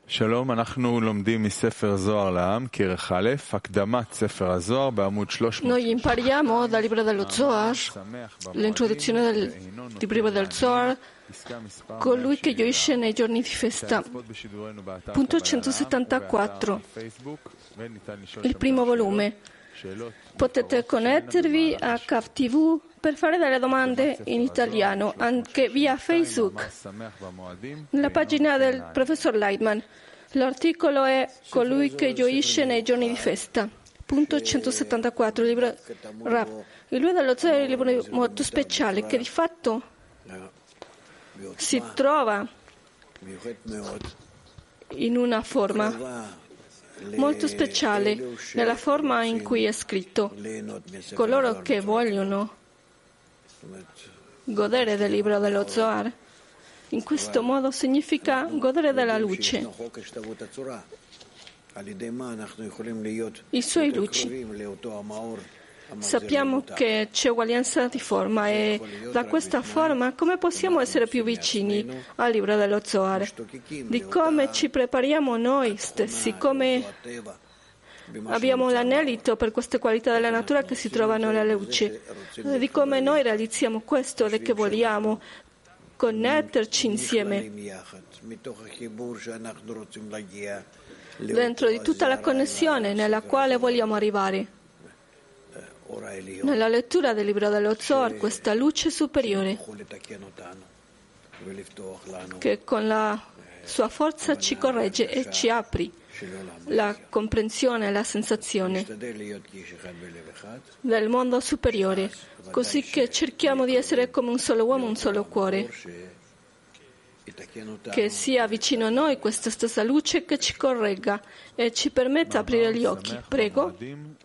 שלום, אנחנו לומדים מספר זוהר לעם, כרך א', הקדמת ספר הזוהר בעמוד 300. Noi impariamo dal libro dello Zohar, l'introduzione del libro del Zohar, colui che gioisce nei giorni di festa. Punto 174, il primo volume. Potete connettervi a CAF TV per fare delle domande in italiano, anche via Facebook, nella pagina del professor Leitman. L'articolo è colui che gioisce nei giorni di festa. Punto 174, il libro Rav. Il libro dello Zohar è un libro molto speciale che di fatto si trova in una forma molto speciale, nella forma in cui è scritto. Coloro che vogliono godere del libro dello Zohar, in questo modo significa godere della luce, i suoi luci. Sappiamo che c'è uguaglianza di forma e da questa forma come possiamo essere più vicini al libro dello Zohar, di come ci prepariamo noi stessi, come abbiamo l'anelito per queste qualità della natura che si trovano nella luce, di come noi realizziamo questo e che vogliamo connetterci insieme dentro di tutta la connessione nella quale vogliamo arrivare. Nella lettura del libro dello Zohar, questa luce superiore che con la sua forza ci corregge e ci apre la comprensione e la sensazione del mondo superiore, così che cerchiamo di essere come un solo uomo, un solo cuore, che sia vicino a noi questa stessa luce che ci corregga e ci permetta di aprire gli occhi. Prego.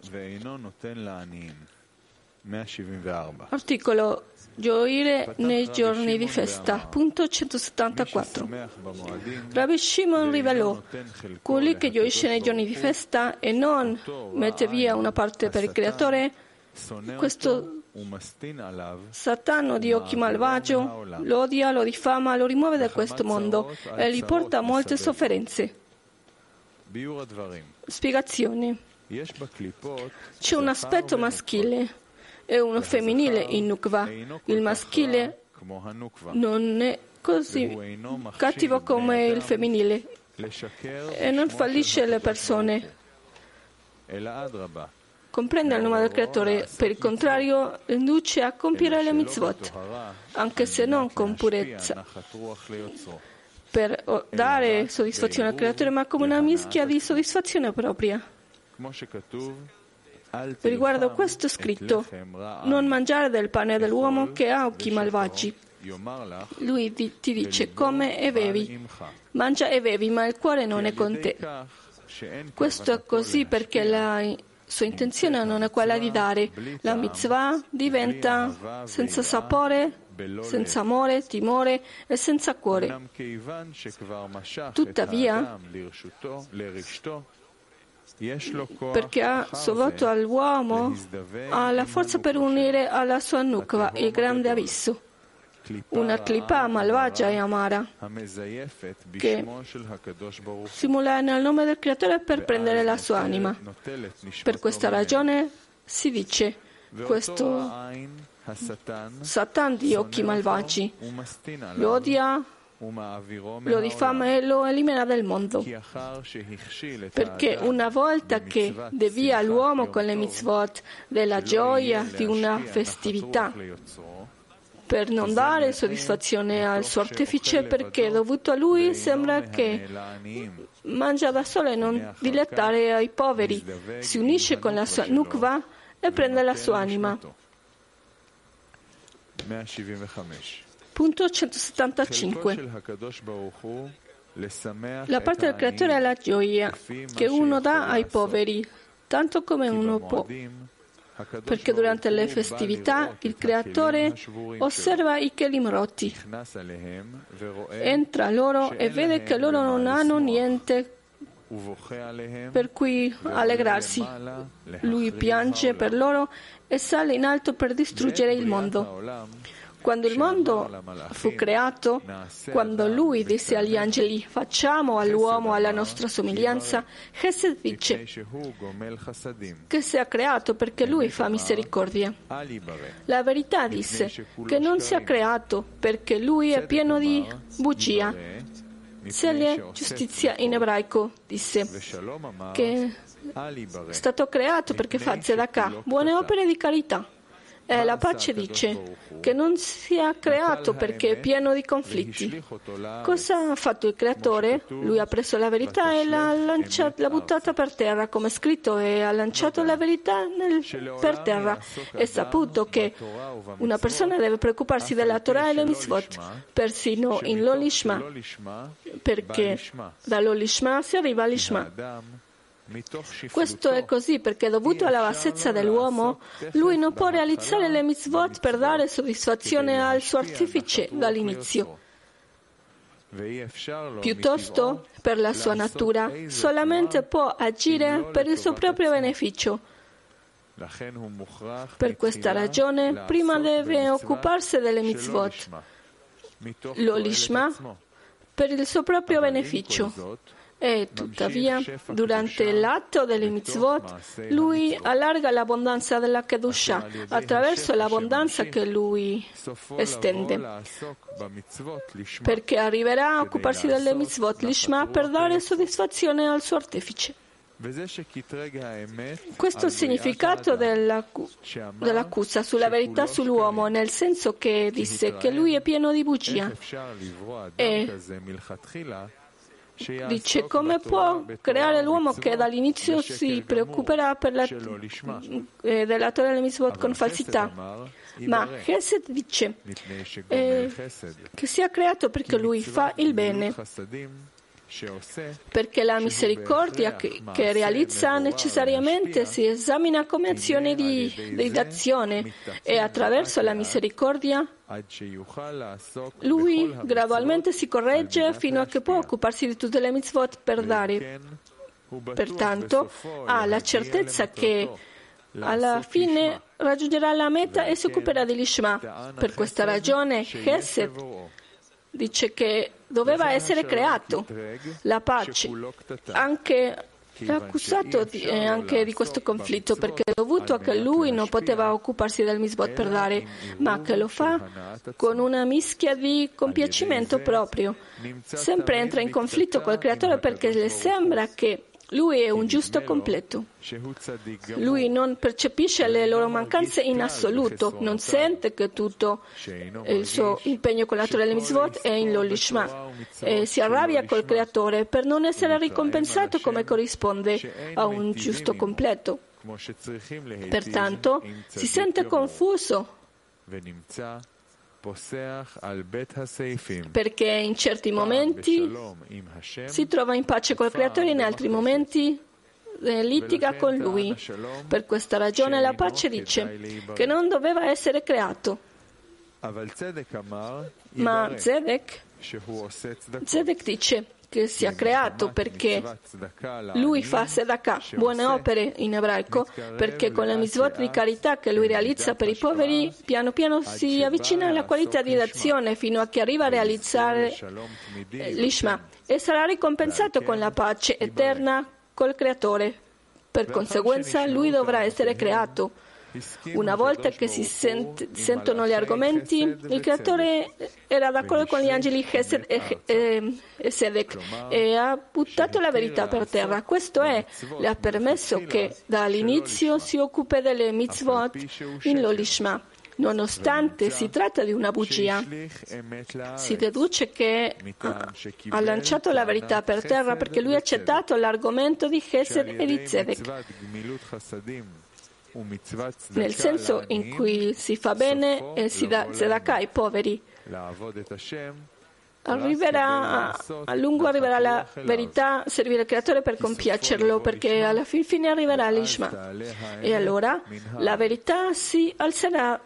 Articolo gioire nei giorni di festa. Punto 174. Rabbi Shimon rivelò: colui che gioisce nei giorni di festa e non mette via una parte per il Creatore, questo Satano di occhi malvagio lo odia, lo diffama, lo rimuove da questo mondo e gli porta molte sofferenze. Spiegazione. C'è un aspetto maschile e uno femminile in Nukva. Il maschile non è così cattivo come il femminile e non fallisce le persone. Comprende il nome del Creatore, per il contrario induce a compiere le mitzvot, anche se non con purezza, per dare soddisfazione al Creatore, ma come una mischia di soddisfazione propria. Riguardo a questo è scritto: non mangiare del pane dell'uomo che ha occhi malvagi. Lui ti dice: come e bevi, mangia e bevi, ma il cuore non è con te. Questo è così perché la sua intenzione non è quella di dare. La mitzvah diventa senza sapore, senza amore, timore e senza cuore. Tuttavia, perché ha sovato all'uomo, ha la forza per unire alla sua nukva il grande abisso, una clipa malvagia e amara che simula nel nome del Creatore per prendere la sua anima. Per questa ragione si dice: questo Satan di occhi malvagi lo odia, lo diffama e lo elimina dal mondo, perché una volta che devia l'uomo con le mitzvot della gioia di una festività per non dare soddisfazione al suo artefice, perché dovuto a lui sembra che mangia da solo e non dilettare ai poveri, si unisce con la sua nukva e prende la sua anima. Punto 175. La parte del Creatore è la gioia che uno dà ai poveri, tanto come uno può, perché durante le festività il Creatore osserva i kelim rotti, entra loro e vede che loro non hanno niente per cui allegrarsi. Lui piange per loro e sale in alto per distruggere il mondo. Quando il mondo fu creato, quando lui disse agli angeli facciamo all'uomo alla nostra somiglianza, Chesed dice che sia creato perché lui fa misericordia. La verità disse che non sia creato perché lui è pieno di bugia. Sele giustizia in ebraico disse che è stato creato perché fa tzedakah, buone opere di carità. E la pace dice che non sia creato perché è pieno di conflitti. Cosa ha fatto il creatore? Lui ha preso la verità e l'ha buttata per terra, come è scritto, e ha lanciato la verità per terra. È saputo che una persona deve preoccuparsi della Torah e le mitzvot, persino in l'olishma, perché dall'olishma si arriva all'ishma. Questo è così perché, dovuto alla bassezza dell'uomo, lui non può realizzare le mitzvot per dare soddisfazione al suo artefice dall'inizio. Piuttosto, per la sua natura, solamente può agire per il suo proprio beneficio. Per questa ragione, prima deve occuparsi delle mitzvot, l'olishma, per il suo proprio beneficio. E tuttavia, durante l'atto delle mitzvot, lui allarga l'abbondanza della Kedusha attraverso l'abbondanza che lui estende, perché arriverà a occuparsi delle mitzvot l'ishma per dare soddisfazione al suo artefice. Questo è il significato dell'accusa sulla verità sull'uomo, nel senso che disse che lui è pieno di bugia. E dice come può creare l'uomo che dall'inizio si preoccuperà della Torah e le mitzvot con falsità. Ma Chesed dice che sia creato perché lui fa il bene, perché la misericordia che realizza necessariamente si esamina come azione di azione, e attraverso la misericordia lui gradualmente si corregge fino a che può occuparsi di tutte le mitzvot per dare. Pertanto ha la certezza che alla fine raggiungerà la meta e si occuperà dell'ishma. Per questa ragione Chesed dice che doveva essere creato. La pace anche è accusato anche di questo conflitto, perché è dovuto a che lui non poteva occuparsi del mitzvot per dare, ma che lo fa con una mischia di compiacimento proprio. Sempre entra in conflitto col creatore perché le sembra che lui è un giusto completo. Lui non percepisce le loro mancanze in assoluto, non sente che tutto il suo impegno con la Torah e le mitzvot è in l'olishma, e si arrabbia col creatore per non essere ricompensato come corrisponde a un giusto completo. Pertanto si sente confuso perché in certi momenti si trova in pace col creatore, in altri momenti litiga con lui. Per questa ragione la pace dice che non doveva essere creato. Ma Zedek dice che sia creato perché lui fa tzedakah, buone opere in ebraico, perché con le mitzvot di carità che lui realizza per i poveri, piano piano si avvicina alla qualità di azione fino a che arriva a realizzare l'ishma e sarà ricompensato con la pace eterna col creatore. Per conseguenza lui dovrà essere creato. Una volta che si sentono gli argomenti, il creatore era d'accordo con gli angeli Chesed e Sedek e ha buttato la verità per terra. Questo le ha permesso che dall'inizio si occupi delle mitzvot in l'olishma. Nonostante si tratta di una bugia, si deduce che ha lanciato la verità per terra perché lui ha accettato l'argomento di Chesed e di Zedek, nel senso in cui si fa bene e si dà tzedakah ai poveri. A lungo arriverà la verità, servire il creatore per compiacerlo, perché alla fine arriverà l'ishma. E allora la verità si alzerà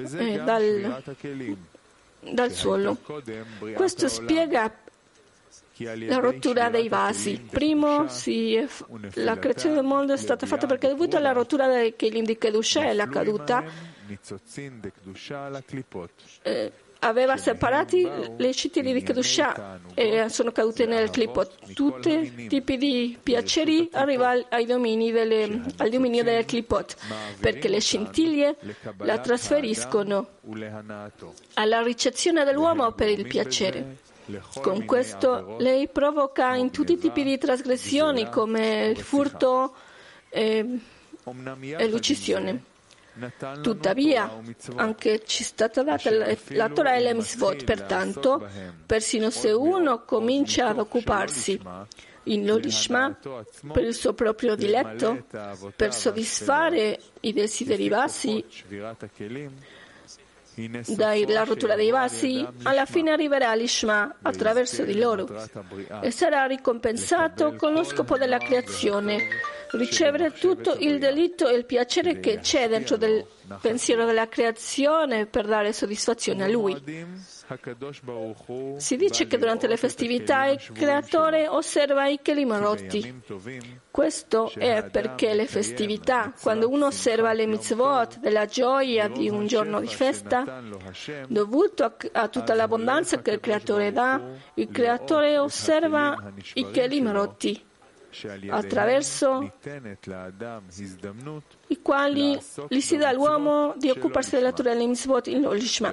dal suolo. Questo spiega la rottura dei vasi. Primo, la creazione del mondo è stata fatta perché dovuto alla rottura dei Kelim di Kedusha e la caduta, aveva separati le scintille di Kedusha e sono cadute nel clipot. Tutti i tipi di piaceri arrivano al dominio del clipot, perché le scintille la trasferiscono alla ricezione dell'uomo per il piacere. Con questo lei provoca in tutti i tipi di trasgressioni come il furto e l'uccisione. Tuttavia, anche ci è stata data la Torah e le mitzvot, pertanto, persino se uno comincia ad occuparsi in Lolishma per il suo proprio diletto, per soddisfare i desideri bassi, dalla rottura dei vasi, alla fine arriverà all'Ishma attraverso di loro e sarà ricompensato con lo scopo della creazione, ricevere tutto il delitto e il piacere che c'è dentro del pensiero della creazione per dare soddisfazione a Lui. Si dice che durante le festività il Creatore osserva i kelim rotti. Questo è perché le festività, quando uno osserva le mitzvot della gioia di un giorno di festa, dovuto a tutta l'abbondanza che il Creatore dà, il Creatore osserva i kelim rotti, attraverso i quali gli si dà all'uomo di occuparsi della Torah e delle mitzvot in Lolishma.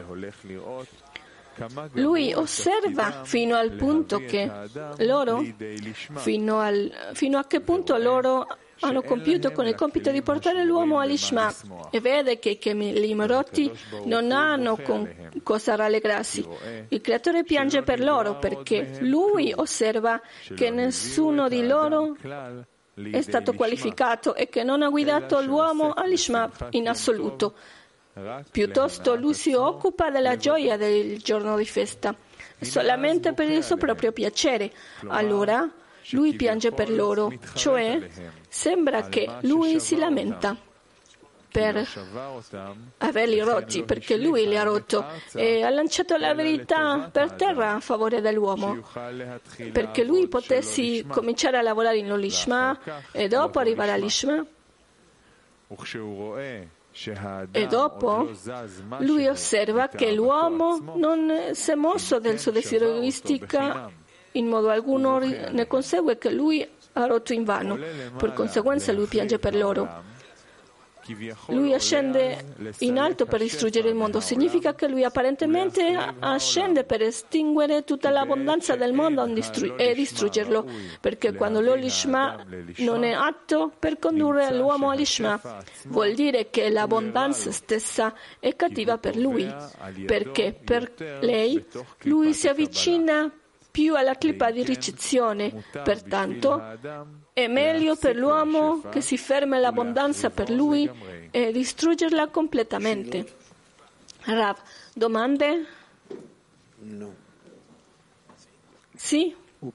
Lui osserva fino al punto che loro, fino a che punto loro hanno compiuto con il compito di portare l'uomo all'Ishma e vede che i kelim rotti non hanno con cosa rallegrarsi. Il Creatore piange per loro perché lui osserva che nessuno di loro è stato qualificato e che non ha guidato l'uomo all'Ishma in assoluto. Piuttosto lui si occupa della gioia del giorno di festa, solamente per il suo proprio piacere. Allora lui piange per loro, cioè sembra che lui si lamenta per averli rotti, perché lui li ha rotto e ha lanciato la verità per terra a favore dell'uomo, perché lui potesse cominciare a lavorare in Lolishma e dopo arrivare all'Ishma. E dopo lui osserva che l'uomo non si è mosso del suo desiderio egoistico in modo alcuno, ne consegue che lui ha rotto invano. Per conseguenza lui piange per loro. Lui ascende in alto per distruggere il mondo. Significa che lui apparentemente ascende per estinguere tutta l'abbondanza del mondo e distruggerlo, perché quando l'Olishma non è atto per condurre l'uomo all'Ishma, vuol dire che l'abbondanza stessa è cattiva per lui, perché per lei lui si avvicina più alla clipa di ricezione. Pertanto è meglio per l'uomo che si fermi l'abbondanza per lui e distruggerla completamente. Rav, domande? No. Sì?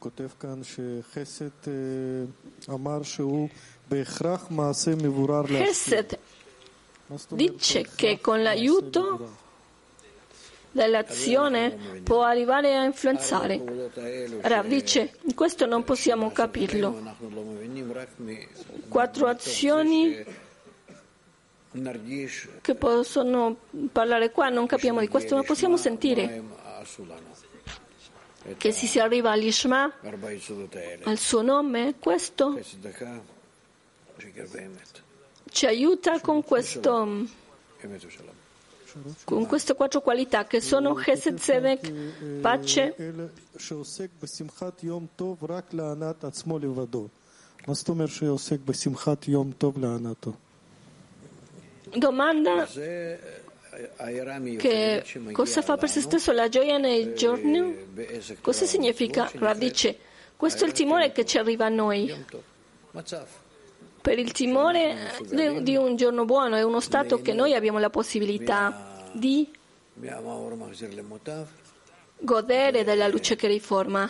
Chesed dice che con l'aiuto dell'azione può arrivare a influenzare. Rav dice, questo non possiamo capirlo. 4 azioni che possono parlare qua, non capiamo di questo, ma possiamo sentire che se si arriva all'Ishma, al suo nome, questo ci aiuta con queste 4 qualità che sono Chesed, Tzedek, pace. Domanda che cosa fa per se stesso la gioia nei giorni? Cosa significa? Rav dice, questo è il timore che ci arriva a noi. Per il timore di un giorno buono è uno stato che noi abbiamo la possibilità di godere della luce che riforma.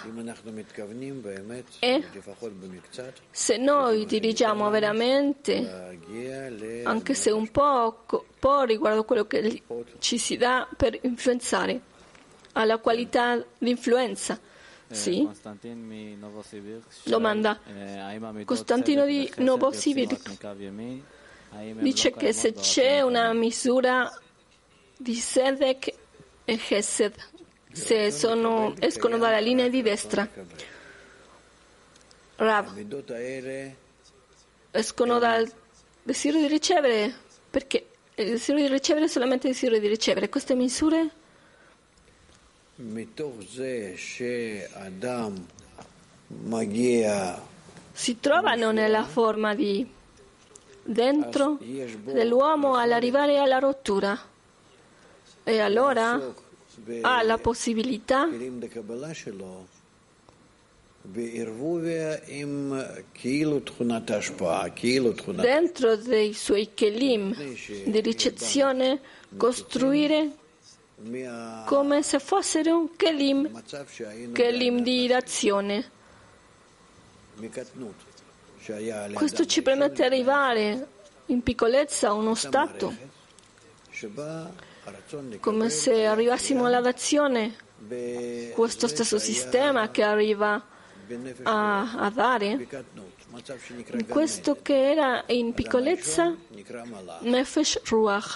E se noi dirigiamo veramente, anche se un po' riguardo quello che ci si dà per influenzare, alla qualità di influenza. Sì? Domanda. Costantino di Novosibirsk dice che se c'è una misura di Sedek e Chesed, se escono dalla linea di destra. Rav, escono dal desiderio di ricevere, perché il desiderio di ricevere è solamente il desiderio di ricevere. Queste misure si trovano nella forma di dentro dell'uomo all'arrivare alla rottura, e allora ha la possibilità dentro dei suoi kelim di ricezione costruire come se fossero un kelim di azione. Questo ci permette di arrivare in piccolezza a uno stato come se arrivassimo alla dazione, questo stesso sistema che arriva a dare, questo che era in piccolezza, Nefesh Ruach.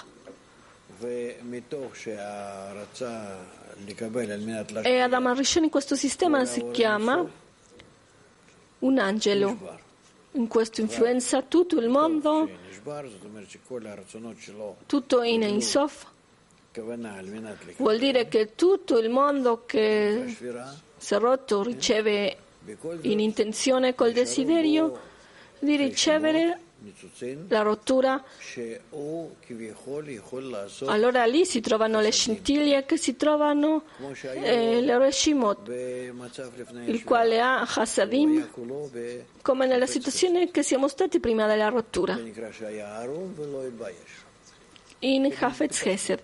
E Adam Arishon in questo sistema si chiama un angelo. In questo influenza tutto il mondo, tutto in Ein Sof. Vuol dire che tutto il mondo che si è rotto riceve in intenzione col desiderio di ricevere la rottura. Allora lì si trovano le scintille che si trovano le Reshimot, il quale ha Hasadim, come nella situazione che siamo stati prima della rottura in Hafetz Chesed,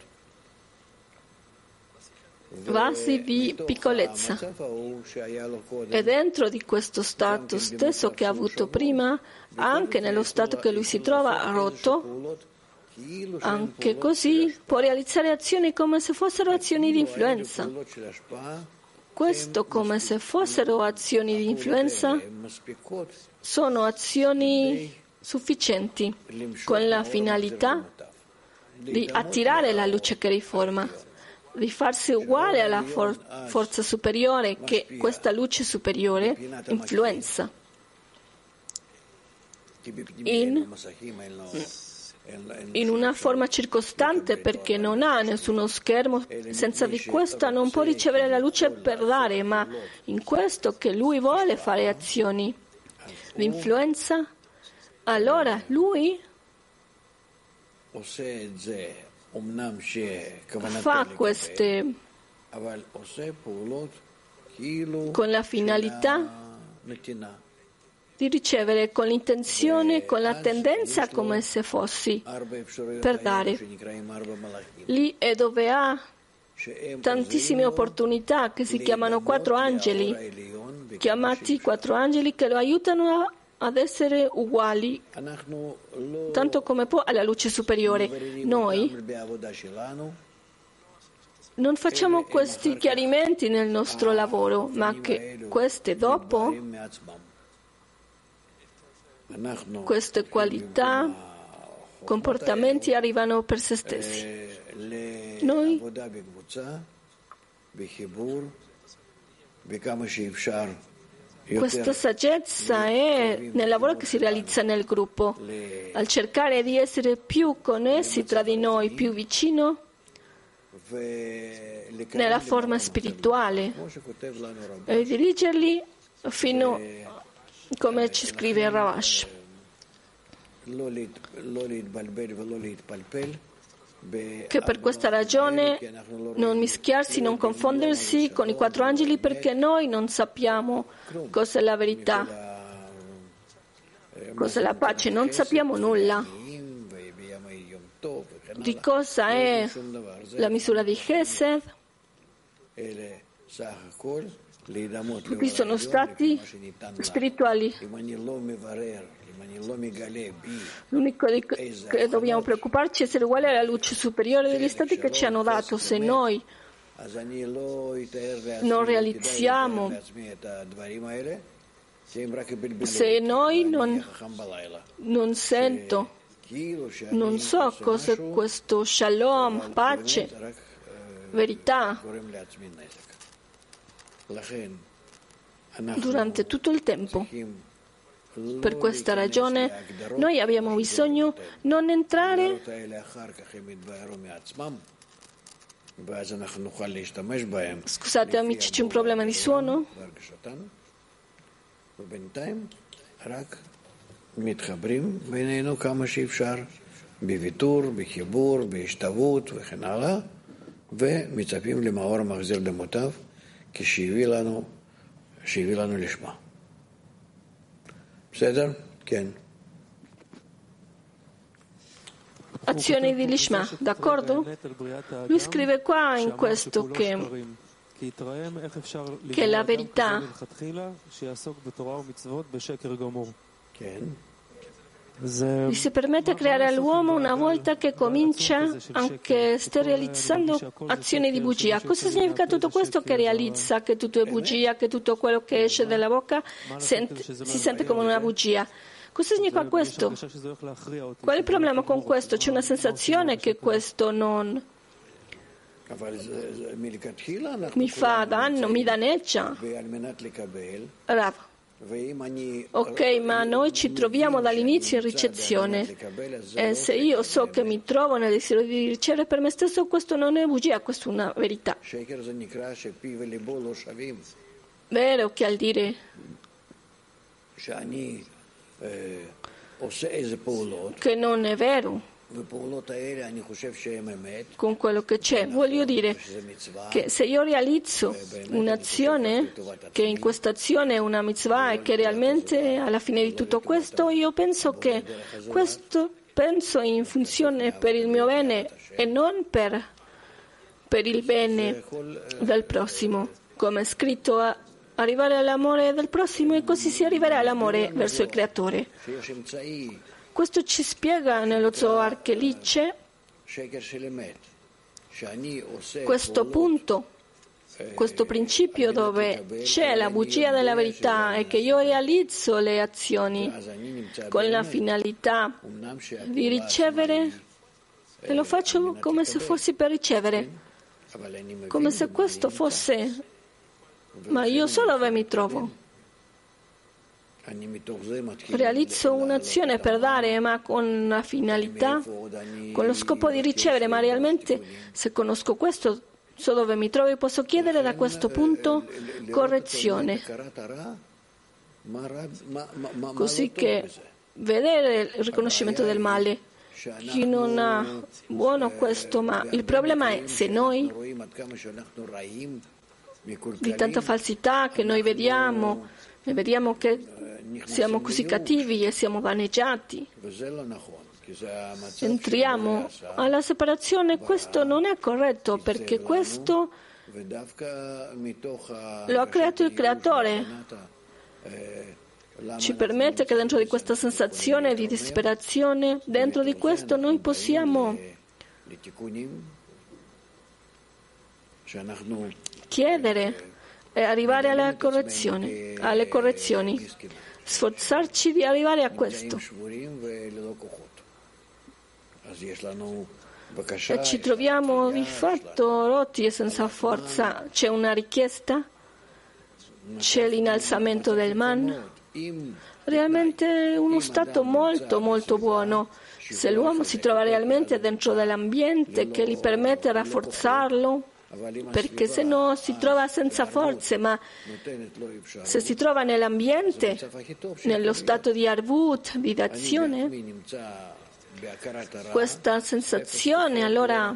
vasi di piccolezza, e dentro di questo stato stesso che ha avuto prima, anche nello stato che lui si trova rotto, anche così può realizzare azioni come se fossero azioni di influenza. Questo, come se fossero azioni di influenza, sono azioni sufficienti con la finalità di attirare la luce che riforma, di farsi uguale alla forza superiore che questa luce superiore influenza in una forma circostante, perché non ha nessuno schermo, senza di questa non può ricevere la luce per dare, ma in questo che lui vuole fare azioni di influenza, allora lui fa queste con la finalità di ricevere, con l'intenzione, con la tendenza come se fossi per dare. Lì è dove ha tantissime opportunità che si chiamano 4 angeli, chiamati 4 angeli che lo aiutano ad essere uguali, tanto come può, alla luce superiore. Noi non facciamo questi chiarimenti nel nostro lavoro, ma che queste dopo, queste qualità, comportamenti arrivano per se stessi. Noi questa saggezza è nel lavoro che si realizza nel gruppo, al cercare di essere più connessi tra di noi, più vicino nella forma spirituale, e dirigerli fino, come ci scrive il Ravash, che per questa ragione non mischiarsi, non confondersi con i 4 angeli, perché noi non sappiamo cos'è la verità, cos'è la pace, non sappiamo nulla di cosa è la misura di Chesed. Qui sono stati spirituali. L'unico che dobbiamo preoccuparci è essere uguali alla luce superiore degli stati che ci hanno dato. Se noi non realizziamo, se noi non sento Non so cos'è questo shalom, pace, verità. Durante tutto il tempo. Per questa ragione noi abbiamo bisogno non entrare Scusate amici, c'è un problema di suono? מתחברים בינינו כמה שאפשר, בוויתור, בחיבור, בהשתוות וכן הלאה, ומצפים למאור המחזיר למוטב, כשהביא לנו לשמה. בסדר? כן. Azioni di Lishma, d'accordo? Lui scrive qua in questo che la verità gli si permette creare all'uomo una volta che comincia anche sta realizzando azioni di bugia. Cosa significa tutto questo? Che realizza che tutto è bugia, che tutto quello che esce dalla bocca si sente come una bugia. Cosa significa questo? Qual è il problema con questo? C'è una sensazione che questo non mi fa danno, mi danneggia. Rav. Ok, ma noi ci troviamo dall'inizio in ricezione e se io so che mi trovo nel desiderio di ricevere per me stesso, questo non è bugia, questo è una verità. Vero che al dire che non è vero con quello che c'è, voglio dire che se io realizzo un'azione, che in questa azione è una mitzvah e che realmente alla fine di tutto questo io penso che questo penso in funzione per il mio bene e non per il bene del prossimo, come è scritto arrivare all'amore del prossimo e così si arriverà all'amore verso il Creatore. Questo ci spiega nello Zohar che lì c'è questo punto, questo principio dove c'è la bugia della verità e che io realizzo le azioni con la finalità di ricevere e lo faccio come se fossi per ricevere, come se questo fosse. Ma io so dove mi trovo. Realizzo un'azione per dare, ma con la finalità, con lo scopo di ricevere, ma realmente se conosco questo, so dove mi trovo e posso chiedere da questo punto correzione. Così che vedere il riconoscimento del male. Chi non ha buono questo, ma il problema è se noi di tanta falsità che noi vediamo che siamo così cattivi e siamo vaneggiati. Entriamo alla separazione, questo non è corretto perché questo lo ha creato il Creatore. Ci permette che dentro di questa sensazione di disperazione, dentro di questo noi possiamo chiedere e arrivare alle correzioni, sforzarci di arrivare a questo. E ci troviamo di fatto rotti e senza forza. C'è una richiesta, c'è l'innalzamento del man, realmente uno stato molto molto buono. Se l'uomo si trova realmente dentro dell'ambiente che gli permette di rafforzarlo, perché se no si trova senza forze, ma se si trova nell'ambiente, nello stato di arvut, di d'azione, questa sensazione, allora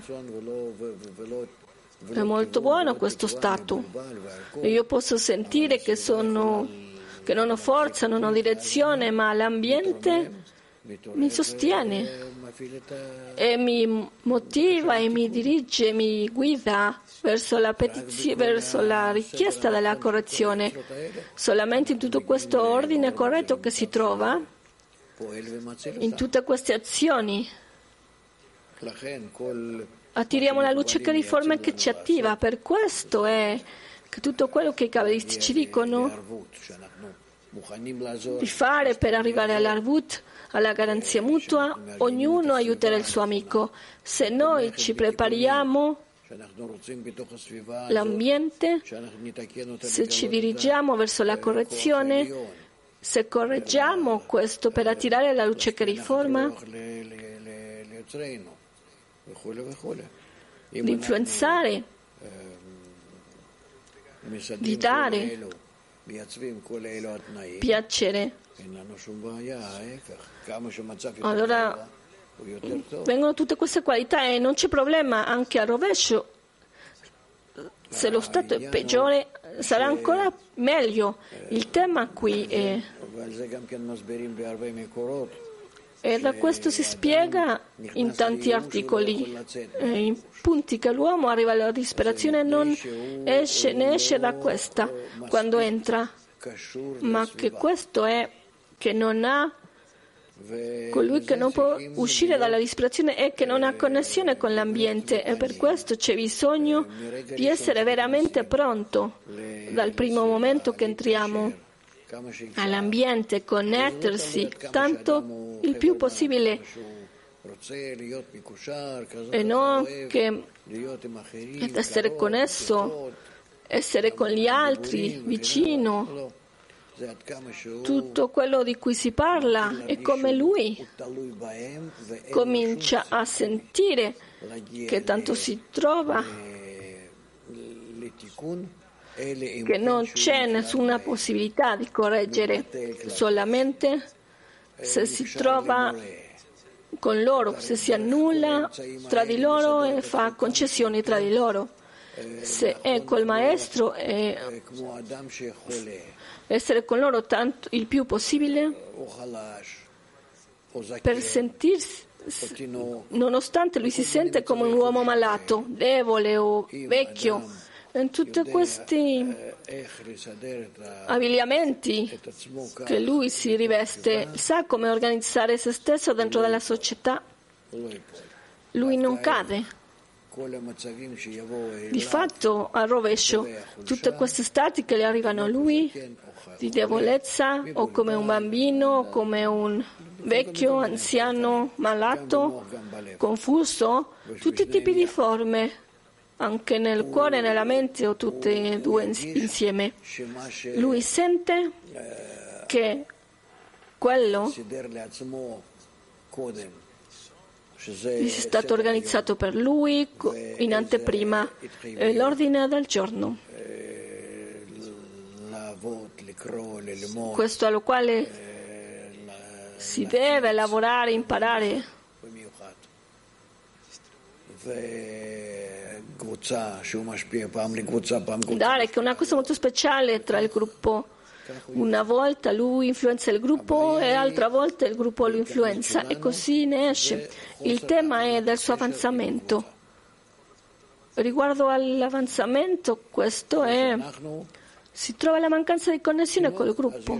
è molto buono questo stato. E io posso sentire che non ho forza, non ho direzione, ma l'ambiente mi sostiene e mi motiva e mi dirige, mi guida verso la richiesta della correzione. Solamente in tutto questo ordine corretto che si trova, in tutte queste azioni, attiriamo la luce che riforma e che ci attiva. Per questo è che tutto quello che i cabalisti ci dicono di fare per arrivare all'arvut, alla garanzia mutua. Ognuno aiuterà il suo amico. Se noi ci prepariamo l'ambiente, se ci dirigiamo verso la correzione, se correggiamo questo per attirare la luce che riforma, di influenzare, di dare piacere, allora vengono tutte queste qualità e non c'è problema. Anche al rovescio, se lo stato è peggiore, sarà ancora meglio. Il tema qui è, e da questo si spiega in tanti articoli, in punti, che l'uomo arriva alla disperazione e non esce, ne esce da questa quando entra, ma che questo è che non ha, colui che non può uscire dalla disperazione è che non ha connessione con l'ambiente, e per questo c'è bisogno di essere veramente pronto dal primo momento che entriamo all'ambiente, connettersi tanto il più possibile e non che essere connesso, essere con gli altri, vicino. Tutto quello di cui si parla è come lui comincia a sentire che tanto si trova, che non c'è nessuna possibilità di correggere, solamente se si trova con loro, se si annulla tra di loro e fa concessioni tra di loro. Se è col maestro e essere con loro tanto il più possibile per sentirsi, nonostante lui si sente come un uomo malato, debole o vecchio. In tutti questi abbigliamenti che lui si riveste, sa come organizzare se stesso dentro della società. Lui non cade. Di fatto, al rovescio, tutte queste stati che le arrivano a lui, di debolezza, o come un bambino, o come un vecchio, anziano, malato, confuso, tutti i tipi di forme, anche nel cuore e nella mente, o tutte e due insieme. Lui sente che quello è stato organizzato per lui in anteprima, l'ordine del giorno. Questo allo quale si deve lavorare, imparare. Dare, che è una cosa molto speciale tra il gruppo. Una volta lui influenza il gruppo e altra volta il gruppo lo influenza, e così ne esce. Il tema è del suo avanzamento. Riguardo all'avanzamento, questo è, si trova la mancanza di connessione col gruppo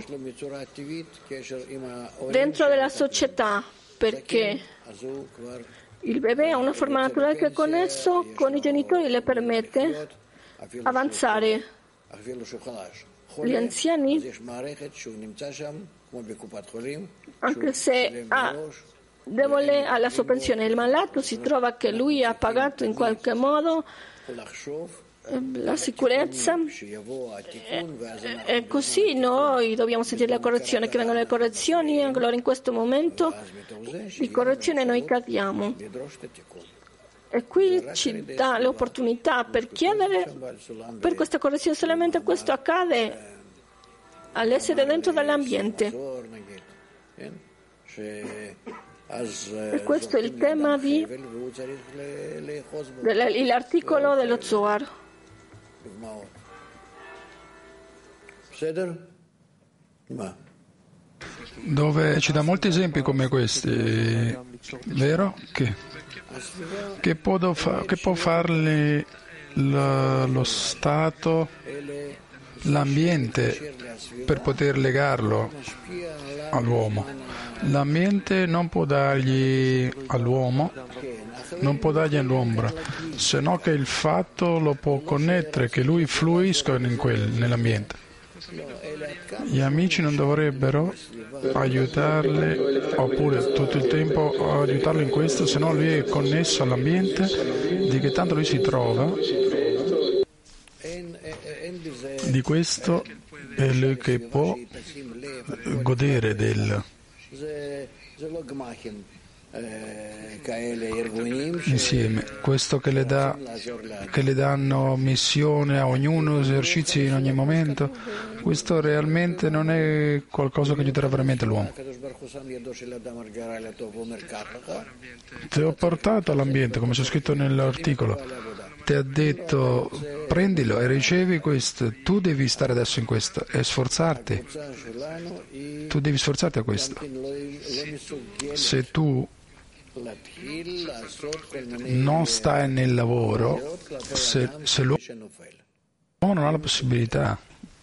dentro della società, perché il bebè ha una forma naturale che è connesso con i genitori e le permette avanzare. Gli anziani, anche se debole alla sua pensione, il malato si trova che lui ha pagato in qualche modo la sicurezza, e così noi dobbiamo sentire la correzione, che vengono le correzioni, e allora in questo momento di correzione noi cadiamo. E qui ci dà l'opportunità per chiedere per questa correzione. Solamente questo accade all'essere dentro dell'ambiente. E questo è il tema dell'articolo dello Zohar. Dove ci dà molti esempi come questi, vero? Che può farli lo Stato, l'ambiente, per poter legarlo all'uomo. L'ambiente non può dargli all'uomo, non può dargli all'ombra, se no che il fatto lo può connettere, che lui fluisca nell'ambiente. Gli amici non dovrebbero aiutarli oppure tutto il tempo aiutarlo in questo, se no lui è connesso all'ambiente di che tanto lui si trova. Di questo è lui che può godere del insieme. Questo che le danno missione a ognuno, esercizi in ogni momento, questo realmente non è qualcosa che aiuterà veramente l'uomo. Ti ho portato all'ambiente, come c'è scritto nell'articolo. Ti ha detto prendilo e ricevi questo, tu devi stare adesso in questo e sforzarti, tu devi sforzarti a questo. Se tu non stai nel lavoro, se l'uomo non ha la possibilità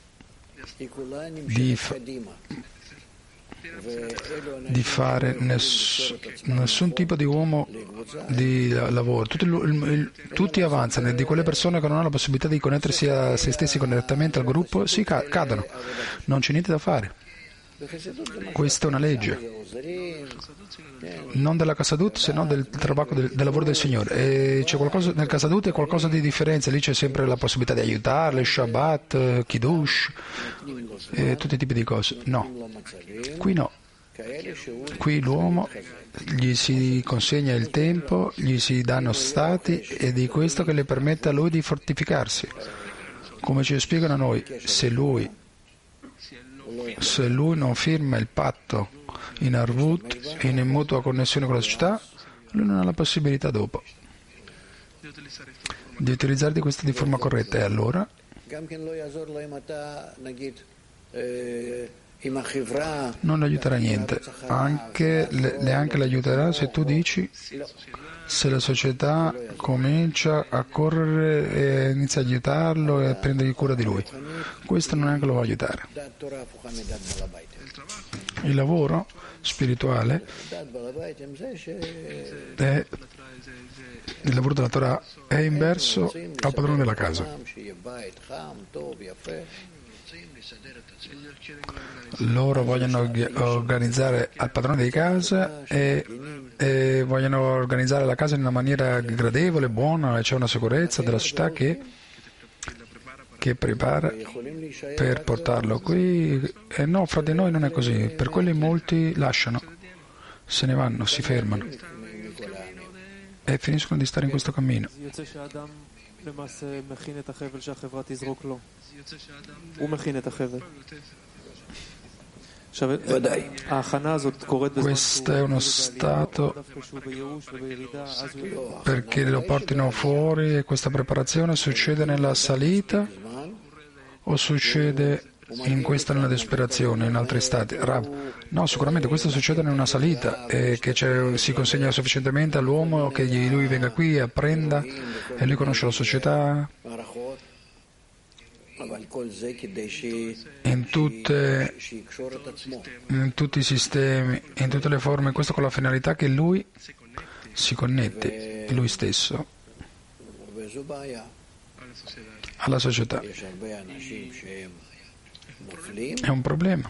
di fare nessun tipo di uomo di lavoro, tutti avanzano, e di quelle persone che non hanno la possibilità di connettersi a se stessi correttamente al gruppo si cadono, non c'è niente da fare. Questa è una legge non della Casadut, se no del lavoro del Signore, e c'è qualcosa nel Casadut, è qualcosa di differenza, lì c'è sempre la possibilità di aiutarle, Shabbat, Kiddush, tutti i tipi di cose. No, qui no, qui l'uomo gli si consegna il tempo, gli si danno stati, e di questo che le permette a lui di fortificarsi, come ci spiegano a noi. Se lui non firma il patto in Arvut, in mutua connessione con la società, lui non ha la possibilità dopo di utilizzare di questo di forma corretta, e allora non le aiuterà niente, neanche le aiuterà se tu dici, se la società comincia a correre e inizia a aiutarlo e a prendergli cura di lui. Questo non è che lo va a aiutare. Il lavoro spirituale il lavoro della Torah è inverso al padrone della casa. Loro vogliono organizzare al padrone di casa e vogliono organizzare la casa in una maniera gradevole, buona, e c'è una sicurezza della società che prepara per portarlo qui. E no, fra di noi non è così. Per quelli molti lasciano, se ne vanno, si fermano e finiscono di stare in questo cammino. Questo è uno stato perché lo portino fuori, e questa preparazione succede nella salita o succede nella disperazione, in altri stati? No, sicuramente questo succede in una salita, che si consegna sufficientemente all'uomo che lui venga qui, apprenda, e lui conosce la società in tutti i sistemi, in tutte le forme, questo con la finalità che lui si connette, lui stesso, alla società. È un problema.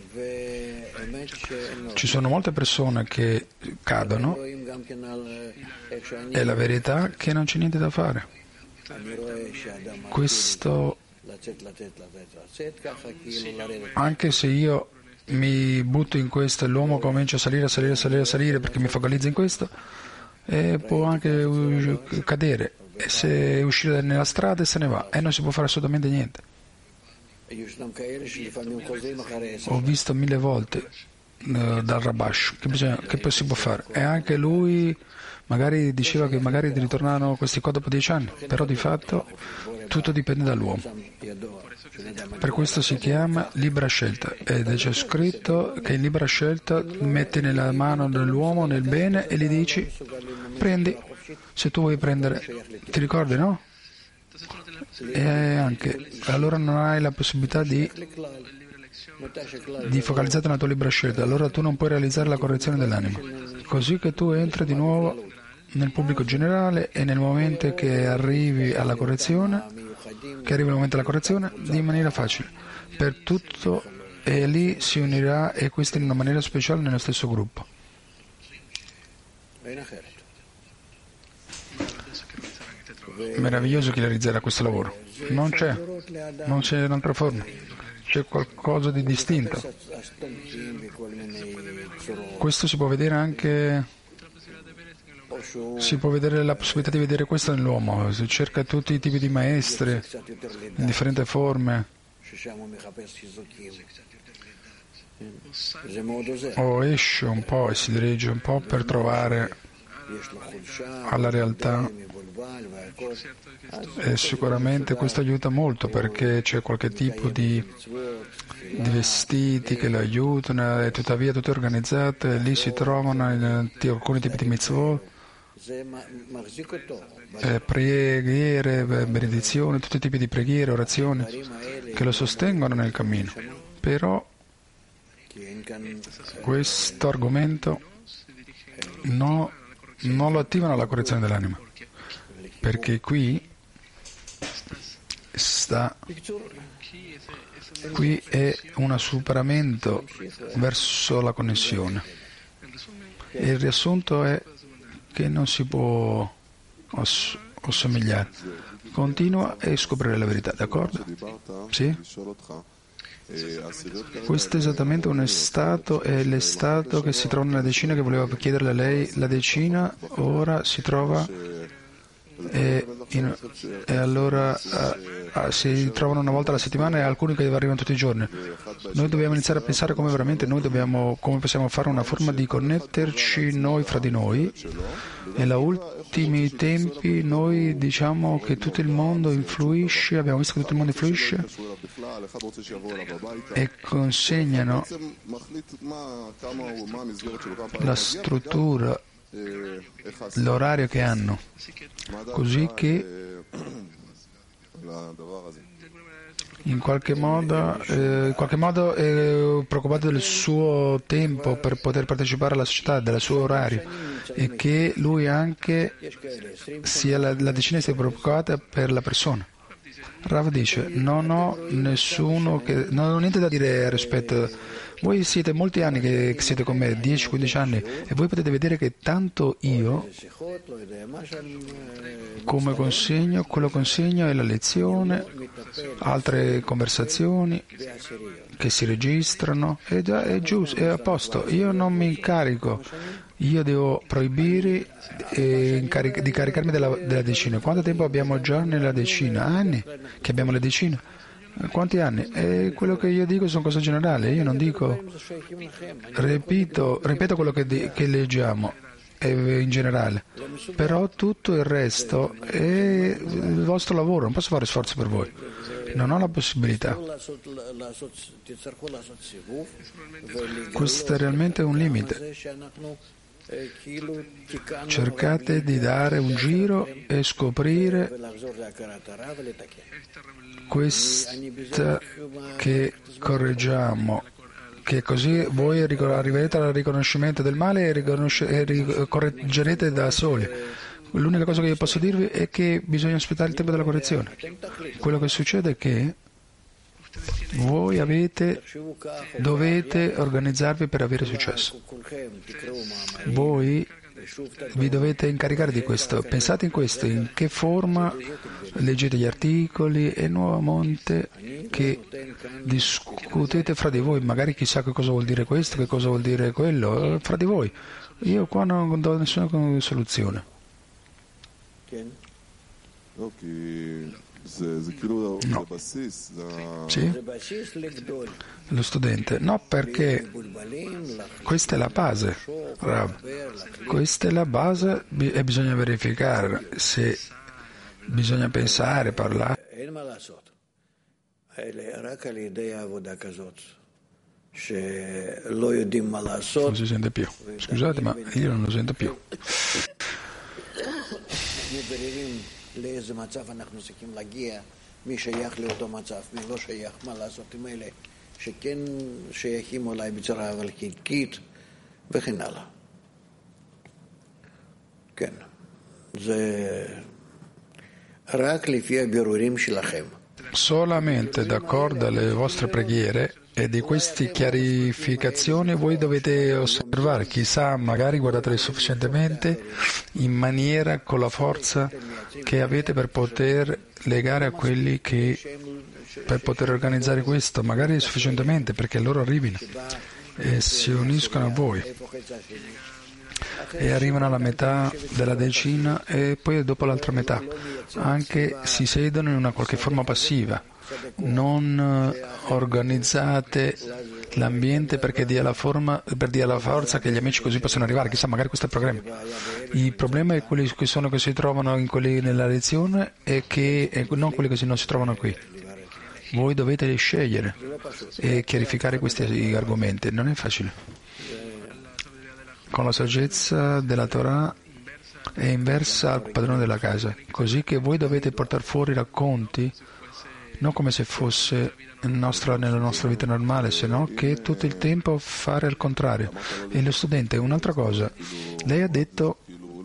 Ci sono molte persone che cadono, è la verità che non c'è niente da fare. Questo, anche se io mi butto in questo e l'uomo comincia a salire perché mi focalizza in questo, può anche cadere, e se uscire nella strada e se ne va, e non si può fare assolutamente niente. Ho visto 1000 volte dal Rabash che poi si può fare, e anche lui magari diceva che magari ritornano questi qua dopo 10 anni, però di fatto tutto dipende dall'uomo. Per questo si chiama libera scelta, ed c'è scritto che in libera scelta metti nella mano dell'uomo nel bene e gli dici prendi, se tu vuoi prendere, ti ricordi, no? E anche allora non hai la possibilità di focalizzare nella tua libera scelta, allora tu non puoi realizzare la correzione dell'anima, così che tu entri di nuovo nel pubblico generale, e nel momento che arrivi il momento della correzione, di maniera facile, per tutto e lì si unirà, e questo in una maniera speciale nello stesso gruppo. Meraviglioso chi realizzerà questo lavoro. Non c'è un'altra forma, c'è qualcosa di distinto. Questo si può vedere anche, si può vedere la possibilità di vedere questo nell'uomo. Si cerca tutti i tipi di maestri in differenti forme. O esce un po' e si dirige un po' per trovare alla realtà, e sicuramente questo aiuta molto, perché c'è qualche tipo di vestiti che lo aiutano, e tuttavia tutte organizzate, e lì si trovano in alcuni tipi di mitzvot, preghiere, benedizioni, tutti i tipi di preghiere, orazioni che lo sostengono nel cammino. Però questo argomento non lo attivano alla correzione dell'anima, perché qui è un superamento verso la connessione, e il riassunto è che non si può assomigliare. Continua e scoprire la verità, d'accordo? Sì? Questo è esattamente un stato, è l'estato che si trova nella decina, che voleva chiederle a lei. La decina ora si trova e allora si trovano una volta alla settimana, e alcuni che arrivano tutti i giorni. Noi dobbiamo iniziare a pensare come veramente come possiamo fare una forma di connetterci noi fra di noi, e negli ultimi tempi noi diciamo che tutto il mondo influisce, abbiamo visto che tutto il mondo influisce e consegnano la struttura, l'orario che hanno, così che in qualche modo è preoccupato del suo tempo per poter partecipare alla società, del suo orario, e che lui anche la decina sia preoccupata per la persona. Rav dice: non ho niente da dire rispetto. Voi siete molti anni che siete con me, 10-15 anni, e voi potete vedere che tanto io, come consegno, quello consegno è la lezione, altre conversazioni che si registrano, è giusto, è a posto. Io non mi incarico, io devo proibire di caricarmi della decina. Quanto tempo abbiamo già nella decina? Anni che abbiamo la decina? Quanti anni? E quello che io dico sono cose generali, io non dico, ripeto quello che leggiamo in generale, però tutto il resto è il vostro lavoro, non posso fare sforzo per voi, non ho la possibilità. Questo è realmente un limite. Cercate di dare un giro e scoprire questa che correggiamo, che così voi arriverete al riconoscimento del male e correggerete da soli. L'unica cosa che io posso dirvi è che bisogna aspettare il tempo della correzione. Quello che succede è che voi dovete organizzarvi per avere successo. Voi vi dovete incaricare di questo. Pensate in questo, in che forma leggete gli articoli, e nuovamente che discutete fra di voi. Magari chissà che cosa vuol dire questo, che cosa vuol dire quello, fra di voi. Io qua non do nessuna soluzione. No. Sì? Lo studente? No, perché questa è la base, Rav. Questa è la base, e bisogna verificare se bisogna pensare, parlare. Non si sente più. Scusate, ma io non lo sento più. לאיזה מצב אנחנו צריכים להגיע, מי שייך לאותו מצב, מי לא שייך, מה לעשות עם אלה שכן שייכים אולי בצורה אבל חלקית וכן הלאה. כן, זה רק לפי הבירורים שלכם. Solamente d'accordo alle vostre preghiere E di queste chiarificazioni voi dovete osservare, chissà, magari guardatele sufficientemente in maniera con la forza che avete per poter legare a quelli che per poter organizzare questo, magari sufficientemente perché loro arrivino e si uniscono a voi e arrivano alla metà della decina e poi dopo l'altra metà, anche si sedono in una qualche forma passiva. Non organizzate l'ambiente perché dia la forza che gli amici così possono arrivare. Chissà, magari questo è il programma. Il problema è quelli che si trovano nella lezione e non quelli che non si trovano qui. Voi dovete scegliere e chiarificare questi argomenti. Non è facile. Con la saggezza della Torah è inversa al padrone della casa, così che voi dovete portare fuori racconti non come se fosse nella nostra vita normale, sino che tutto il tempo fare il contrario. E lo studente, un'altra cosa, lei ha detto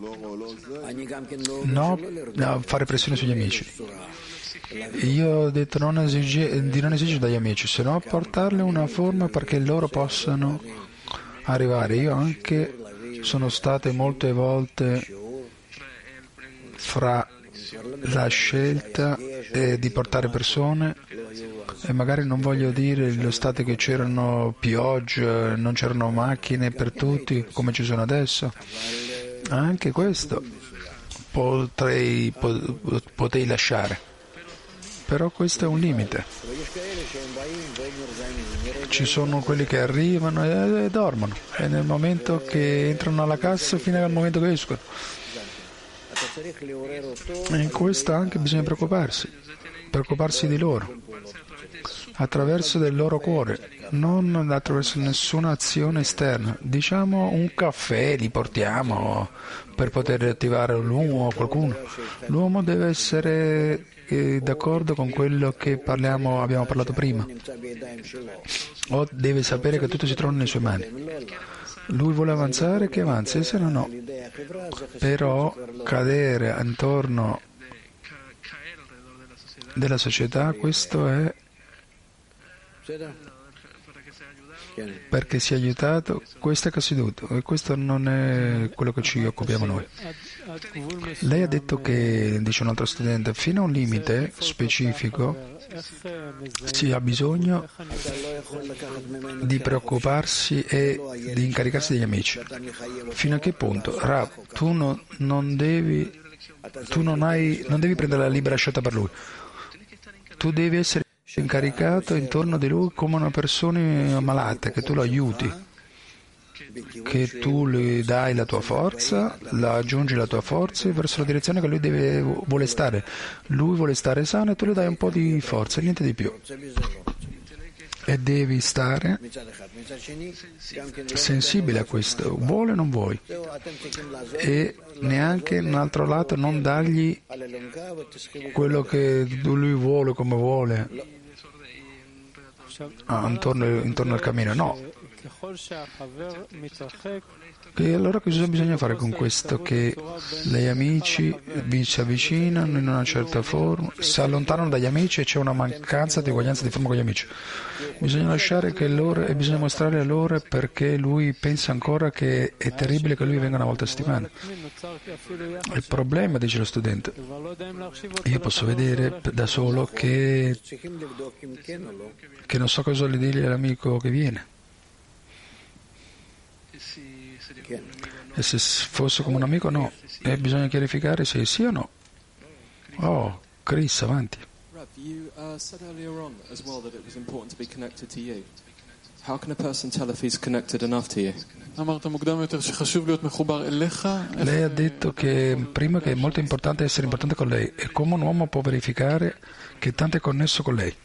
no fare pressione sugli amici. Io ho detto di non esigere dagli amici, sino portarle una forma perché loro possano arrivare. Io anche sono state molte volte fra la scelta di portare persone e magari non voglio dire lo stato che c'erano piogge, non c'erano macchine per tutti come ci sono adesso. Anche questo potrei lasciare, però questo è un limite. Ci sono quelli che arrivano e dormono e nel momento che entrano alla cassa fino al momento che escono. E in questo anche bisogna preoccuparsi di loro, attraverso del loro cuore, non attraverso nessuna azione esterna. Diciamo un caffè li portiamo per poter attivare l'uomo o qualcuno. L'uomo deve essere d'accordo con quello che abbiamo parlato prima, o deve sapere che tutto si trova nelle sue mani. Lui vuole avanzare, che avanzi, e se no. Però cadere intorno della società, questo è perché si è aiutato, questo è caduto e questo non è quello che ci occupiamo noi. Lei ha detto che, dice un altro studente, fino a un limite specifico si ha bisogno di preoccuparsi e di incaricarsi degli amici. Fino a che punto? Rav, tu non devi prendere la libera scelta per lui. Tu devi essere incaricato intorno di lui come una persona malata, che tu lo aiuti, che tu gli dai la tua forza, aggiungi la tua forza verso la direzione che lui vuole stare. Lui vuole stare sano e tu gli dai un po' di forza, niente di più. E devi stare sensibile a questo, vuole o non vuoi. E neanche un altro lato non dargli quello che lui vuole come vuole intorno al cammino, no. E allora cosa bisogna fare con questo? Che gli amici si avvicinano in una certa forma, si allontanano dagli amici e c'è una mancanza di uguaglianza di forma con gli amici. Bisogna lasciare che loro e bisogna mostrare a loro perché lui pensa ancora che è terribile che lui venga una volta a settimana. Il problema, dice lo studente, io posso vedere da solo che non so cosa gli dire all'amico che viene. E se fosse come un amico, no. E bisogna chiarificare se sì o no. Oh, Chris, avanti. You said earlier on as well that it was important to be connected to you. How can a person tell if he's connected enough to you? Lei ha detto che prima che è molto importante essere importante con lei e come un uomo può verificare che tanto è connesso con lei.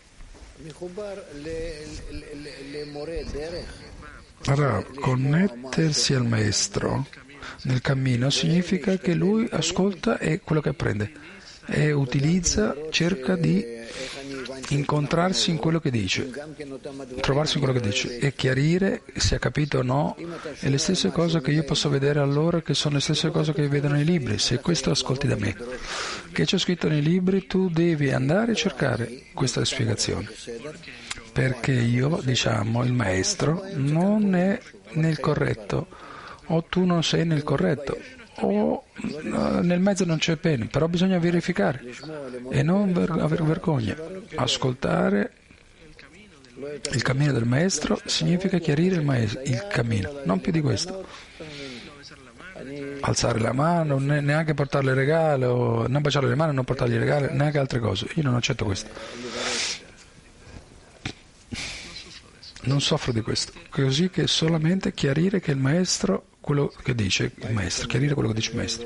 Allora, connettersi al maestro nel cammino significa che lui ascolta e quello che apprende e utilizza, cerca di incontrarsi in quello che dice, trovarsi in quello che dice e chiarire se ha capito o no. E le stesse cose che io posso vedere allora, che sono le stesse cose che vedono nei libri. Se questo ascolti da me, che c'è scritto nei libri, tu devi andare a cercare questa spiegazione. perché il maestro non è nel corretto, o tu non sei nel corretto, o nel mezzo non c'è bene, però bisogna verificare e non avere vergogna. Ascoltare il cammino del maestro significa chiarire il cammino, non più di questo. Alzare la mano, neanche portarle regalo, non baciare le mani, non portargli regalo, neanche altre cose. Io non accetto questo. Non soffro di questo. Così che solamente chiarire che il maestro, quello che dice il maestro, chiarire quello che dice il maestro.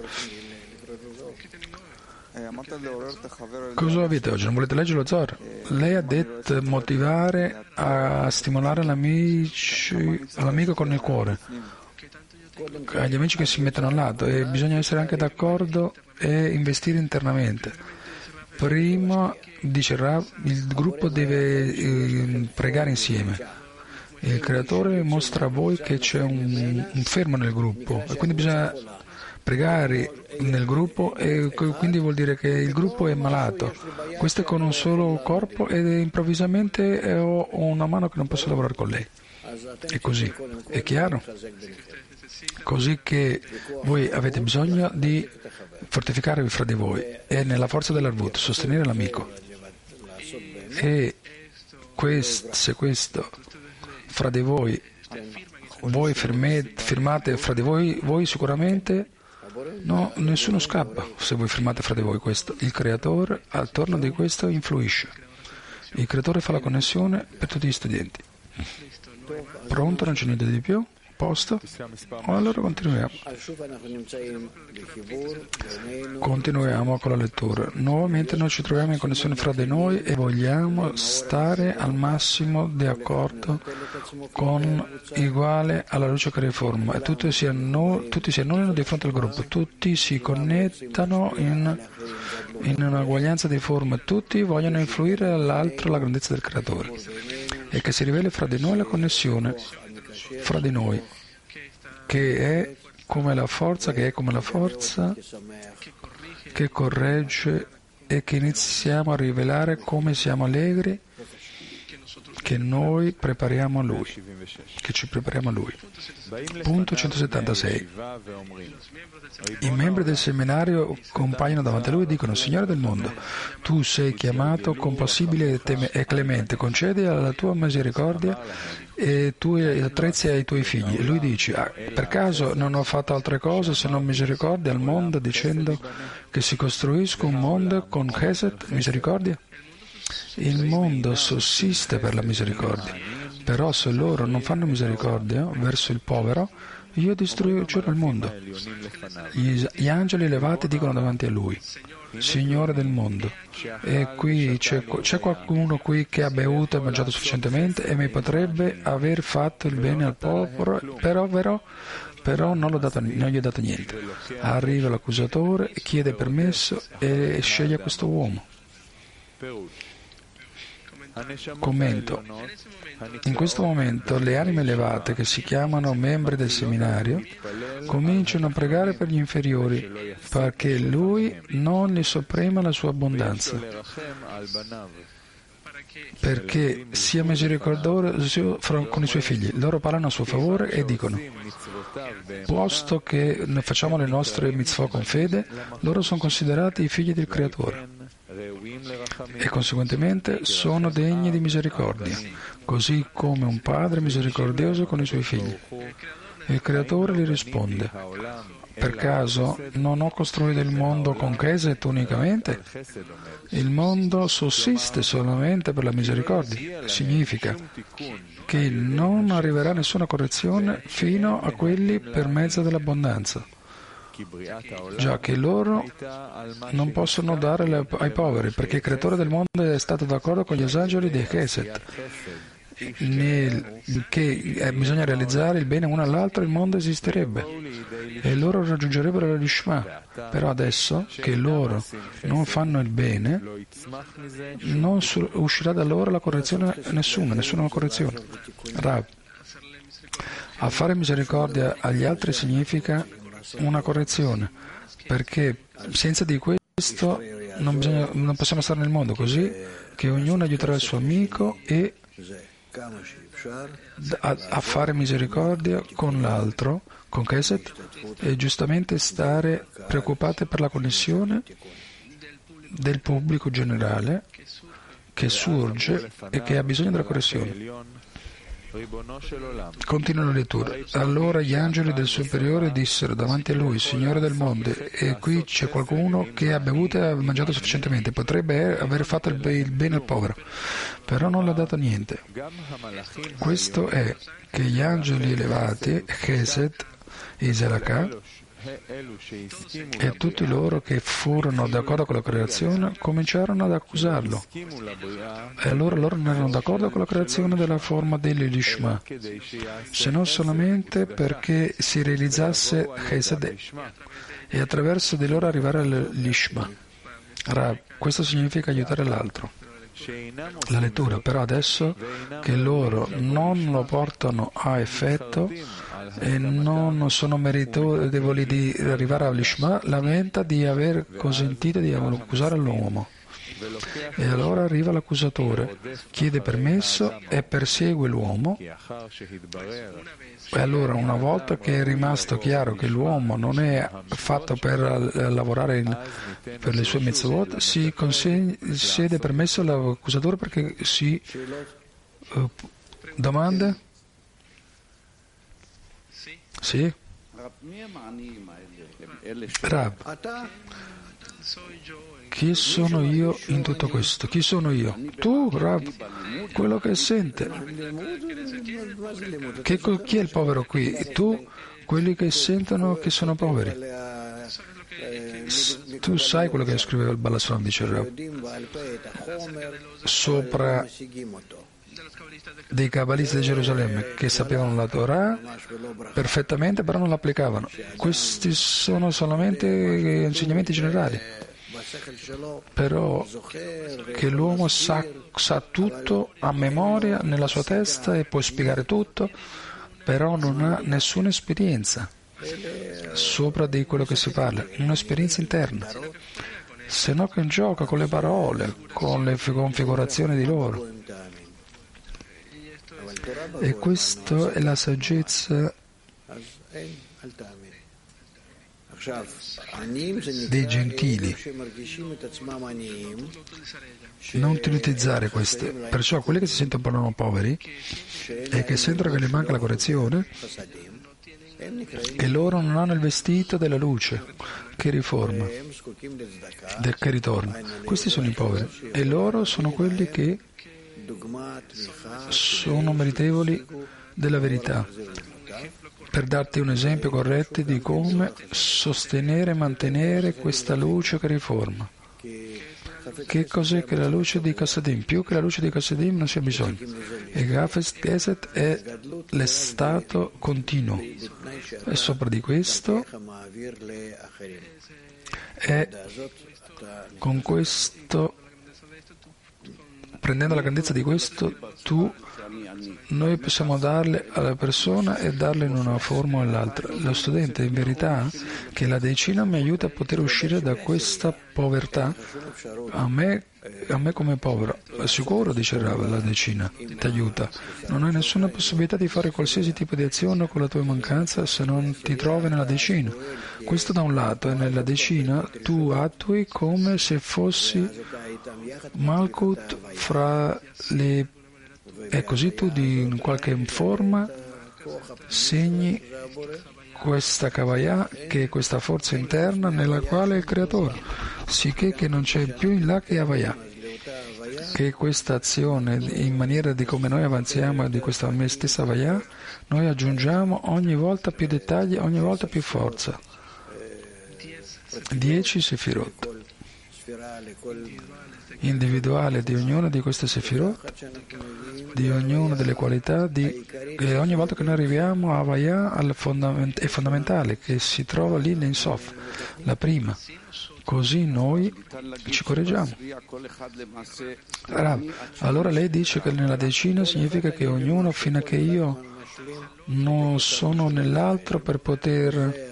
Cosa avete oggi? Non volete leggere lo Zohar? Lei ha detto motivare a stimolare l'amico con il cuore, agli amici che si mettono al lato, e bisogna essere anche d'accordo e investire internamente. Prima, dice Rav, il gruppo deve pregare insieme. Il creatore mostra a voi che c'è un fermo nel gruppo e quindi bisogna pregare nel gruppo, e quindi vuol dire che il gruppo è malato. Questo è con un solo corpo ed improvvisamente ho una mano che non posso lavorare con lei. È così, è chiaro? Così che voi avete bisogno di fortificarvi fra di voi e nella forza dell'Arvut, sostenere l'amico. E se questo fra di voi firmate fra di voi sicuramente nessuno scappa se voi firmate fra di voi questo. Il creatore attorno di questo influisce. Il creatore fa la connessione per tutti gli studenti. Pronto? Non c'è niente di più? Posto? Allora continuiamo con la lettura. Nuovamente noi ci troviamo in connessione fra di noi e vogliamo stare al massimo di accordo uguale alla luce che riforma, e tutti si annullino di fronte al gruppo, tutti si connettano in un'uguaglianza di forma, tutti vogliono influire all'altro la grandezza del creatore, e che si riveli fra di noi la connessione fra di noi, che è come la forza che corregge, e che iniziamo a rivelare come siamo allegri che noi prepariamo a Lui, che ci prepariamo a Lui. Punto 176. I membri del seminario compaiono davanti a Lui e dicono: Signore del mondo, Tu sei chiamato compassibile e clemente, concedi alla Tua misericordia e Tu attrezzi ai Tuoi figli. E Lui dice: per caso non ho fatto altre cose se non misericordia al mondo, dicendo che si costruisca un mondo con Chesed, misericordia? Il mondo sussiste per la misericordia, però se loro non fanno misericordia verso il povero, io distruggerò il mondo. Gli angeli elevati dicono davanti a Lui: Signore del mondo, e qui c'è qualcuno qui che ha bevuto e mangiato sufficientemente e mi potrebbe aver fatto il bene al povero, però non gli ho dato niente. Arriva l'accusatore, chiede permesso e sceglie questo uomo. Commento. In questo momento le anime elevate, che si chiamano membri del seminario, cominciano a pregare per gli inferiori perché Lui non li sopprima la sua abbondanza, perché sia misericordioso con i Suoi figli. Loro parlano a suo favore e dicono: posto che noi facciamo le nostre mitzvot con fede, loro sono considerati i figli del Creatore e conseguentemente sono degni di misericordia, così come un padre misericordioso con i suoi figli. Il Creatore gli risponde: per caso non ho costruito il mondo con Chesed unicamente? Il mondo sussiste solamente per la misericordia. Significa che non arriverà nessuna correzione fino a quelli per mezzo dell'abbondanza, già che loro non possono dare ai poveri, perché il creatore del mondo è stato d'accordo con gli esageri di Chesed, che bisogna realizzare il bene uno all'altro, il mondo esisterebbe e loro raggiungerebbero la Lishma. Però adesso che loro non fanno il bene, non uscirà da loro la correzione, nessuna correzione. Rav, a fare misericordia agli altri significa una correzione, perché senza di questo non possiamo stare nel mondo, così che ognuno aiuterà il suo amico e a fare misericordia con l'altro, con Chesed, e giustamente stare preoccupati per la connessione del pubblico generale che sorge e che ha bisogno della correzione. Continua la lettura. Allora gli angeli del superiore dissero davanti a lui: Signore del mondo, e qui c'è qualcuno che ha bevuto e ha mangiato sufficientemente, potrebbe aver fatto il bene al povero, però non l'ha dato niente. Questo è che gli angeli elevati, Chesed, Iselaka, e tutti loro che furono d'accordo con la creazione cominciarono ad accusarlo. E allora loro non erano d'accordo con la creazione della forma dell'Lishma, se non solamente perché si realizzasse Chesed e attraverso di loro arrivare all'Lishma. Questo significa aiutare l'altro. La lettura, però adesso che loro non lo portano a effetto e non sono meritevoli di arrivare all'Ishma, lamenta di aver consentito di accusare l'uomo. E allora arriva l'accusatore, chiede permesso e persegue l'uomo. E allora, una volta che è rimasto chiaro che l'uomo non è fatto per lavorare per le sue mitzvot, si concede permesso all'accusatore perché si domanda? Sì? Rab, chi sono io in tutto questo? Chi sono io? Tu, Rab, quello che sente. Chi è il povero qui? Tu, quelli che sentono che sono poveri. Tu sai quello che scriveva il Balasram, dice Rab, sopra dei cabalisti di Gerusalemme che sapevano la Torah perfettamente, però non l'applicavano. Questi sono solamente insegnamenti generali. Però che l'uomo sa tutto a memoria nella sua testa e può spiegare tutto, però non ha nessuna esperienza sopra di quello che si parla, un'esperienza interna, se no che gioca con le parole, con le configurazioni di loro. E questa è la saggezza dei gentili. Non utilizzare queste. Perciò quelli che si sentono poveri e che sentono che gli manca la correzione, che loro non hanno il vestito della luce che riforma, che ritorna. Questi sono i poveri e loro sono quelli che sono meritevoli della verità. Per darti un esempio corretto di come sostenere e mantenere questa luce che riforma. Che cos'è che la luce di Chassadim? Più che la luce di Chassadim non si ha bisogno. E Chesed è l'estato continuo. E sopra di questo, e con questo, prendendo la grandezza di questo, noi possiamo darle alla persona e darle in una forma o nell'altra. Lo studente, in verità, che la decina mi aiuta a poter uscire da questa povertà, a me come povero. Sicuro, dice Rav, la decina ti aiuta. Non hai nessuna possibilità di fare qualsiasi tipo di azione con la tua mancanza se non ti trovi nella decina. Questo da un lato, e nella decina tu attui come se fossi Malkut fra le. E così tu in qualche forma segni questa Kavaya, che è questa forza interna nella quale è il Creatore, sicché che non c'è più in là che Avaya, che questa azione, in maniera di come noi avanziamo di questa stessa Avaya, noi aggiungiamo ogni volta più dettagli, ogni volta più forza. 10 Sefirot individuale di ognuna di queste Sefirot, di ognuna delle qualità, e ogni volta che noi arriviamo a Havaya è fondamentale che si trova lì in Sof, la prima, così noi ci correggiamo. Allora lei dice che nella decina significa che ognuno, fino a che io non sono nell'altro per poter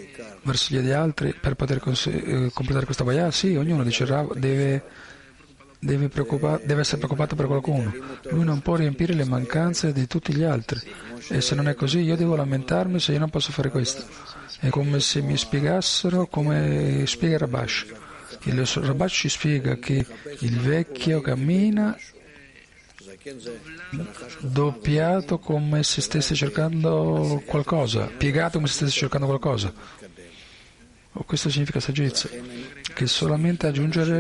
verso gli altri, per poter completare questa Havaya, sì, ognuno dice deve deve essere preoccupato per qualcuno. Lui non può riempire le mancanze di tutti gli altri. E se non è così, io devo lamentarmi se io non posso fare questo. È come se mi spiegassero come spiega il Rabash. Il Rabash ci spiega che il vecchio cammina doppiato come se stesse cercando qualcosa, piegato come se stesse cercando qualcosa. Questo significa saggezza, che solamente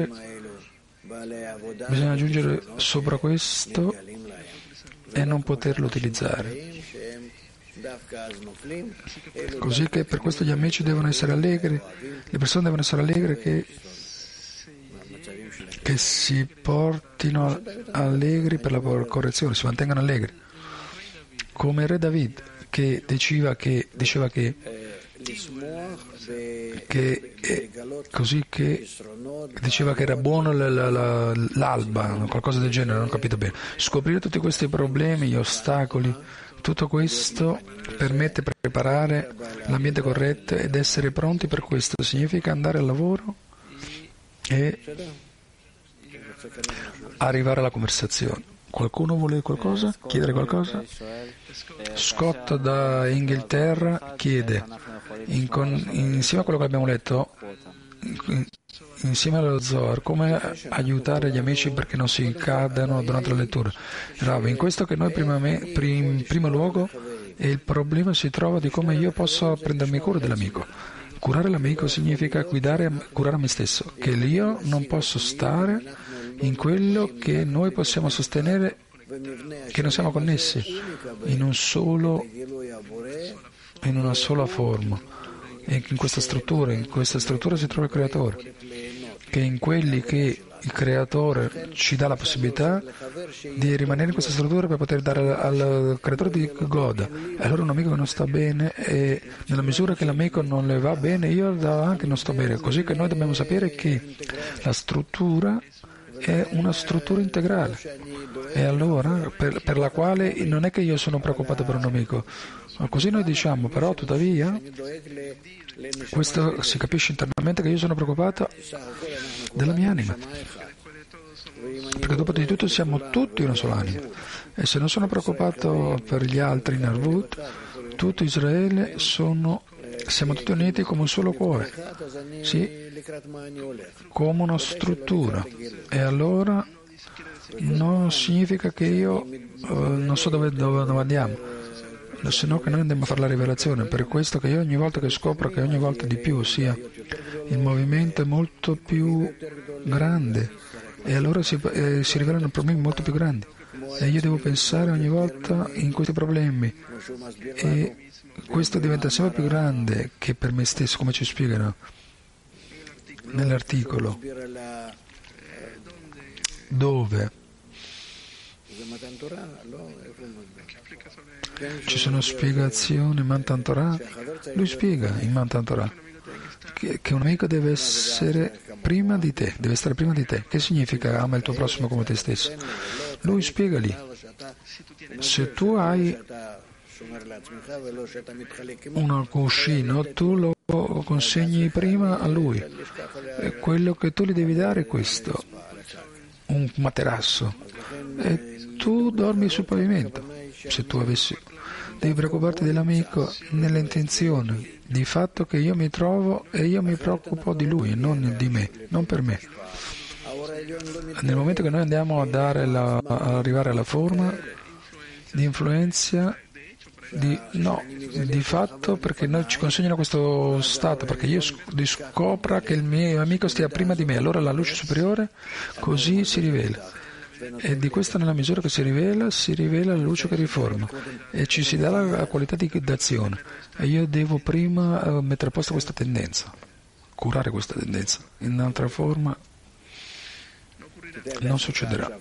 bisogna aggiungere sopra questo e non poterlo utilizzare. Così che per questo gli amici devono essere allegri, le persone devono essere allegre che si portino allegri per la correzione, si mantengano allegri. Come il re David, che diceva che era buono l'alba, qualcosa del genere, non ho capito bene. Scoprire tutti questi problemi, gli ostacoli, tutto questo permette di preparare l'ambiente corretto ed essere pronti per questo. Significa andare al lavoro e arrivare alla conversazione. Qualcuno vuole qualcosa? Chiedere qualcosa? Scott da Inghilterra chiede, insieme a quello che abbiamo letto, insieme allo Zohar, come aiutare gli amici perché non si cadano durante la lettura. Rav, in questo che noi in primo luogo il problema si trova di come io posso prendermi cura dell'amico. Curare l'amico significa curare me stesso, che io non posso stare in quello che noi possiamo sostenere, che non siamo connessi in una sola forma. E in questa struttura si trova il Creatore, che in quelli che il Creatore ci dà la possibilità di rimanere in questa struttura per poter dare al Creatore di goda. E allora un amico che non sta bene, e nella misura che l'amico non le va bene, io anche non sto bene. Così che noi dobbiamo sapere che la struttura è una struttura integrale, e allora per la quale non è che io sono preoccupato per un amico, ma così noi diciamo, però tuttavia questo si capisce internamente che io sono preoccupato della mia anima, perché dopo di tutto siamo tutti una sola anima, e se non sono preoccupato per gli altri in Arvut, tutto Israele siamo tutti uniti come un solo cuore, sì, come una struttura. E allora non significa che io non so dove andiamo, se no che noi andiamo a fare la rivelazione. Per questo che io ogni volta che scopro che ogni volta di più, ossia il movimento è molto più grande, e allora si rivelano problemi molto più grandi, e io devo pensare ogni volta in questi problemi, e questo diventa sempre più grande che per me stesso, come ci spiegano nell'articolo, dove ci sono spiegazioni in Matan Torah. Lui spiega in Matan Torah che un amico deve essere prima di te, deve stare prima di te. Che significa ama il tuo prossimo come te stesso? Lui spiega lì, se tu hai un cuscino, tu lo consegni prima a lui, e quello che tu gli devi dare è questo, un materasso, e tu dormi sul pavimento. Se tu devi preoccuparti dell'amico nell'intenzione di fatto che io mi trovo e io mi preoccupo di lui, non di me, non per me. Nel momento che noi andiamo ad arrivare alla forma di influenza, di fatto, perché noi ci consegnano questo stato, perché io scopra che il mio amico stia prima di me, allora la luce superiore così si rivela, e di questa, nella misura che si rivela la luce che riforma, e ci si dà la qualità di d'azione, e io devo prima mettere a posto questa tendenza, curare questa tendenza. In un'altra forma non succederà.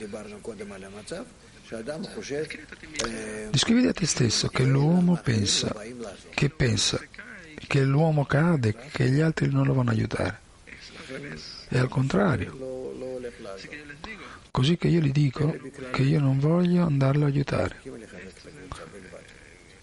Descriviti a te stesso che l'uomo pensa che l'uomo cade, che gli altri non lo vanno a aiutare, e al contrario. Così che io gli dico che io non voglio andarlo a aiutare.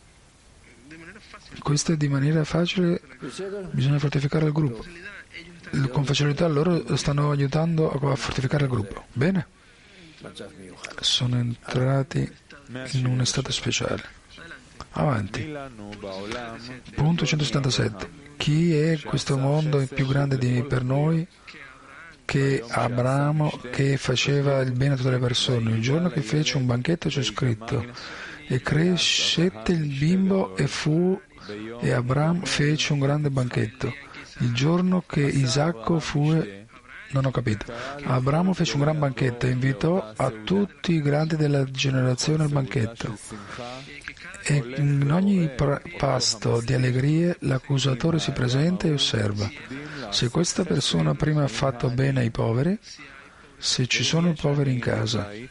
Questo è di maniera facile, bisogna fortificare il gruppo. con facilità loro stanno aiutando a fortificare il gruppo. Bene? Sono entrati in un stato speciale. Avanti. Punto 177. Chi è questo mondo più grande per noi che Abramo, che faceva il bene a tutte le persone? Il giorno che fece un banchetto c'è scritto: e crescette il bimbo e Abramo fece un grande banchetto. Il giorno che Isacco fu... Non ho capito. Abramo fece un gran banchetto e invitò a tutti i grandi della generazione al banchetto. E in ogni pasto di allegrie l'accusatore si presenta e osserva. Se questa persona prima ha fatto bene ai poveri, se ci sono poveri in casa, e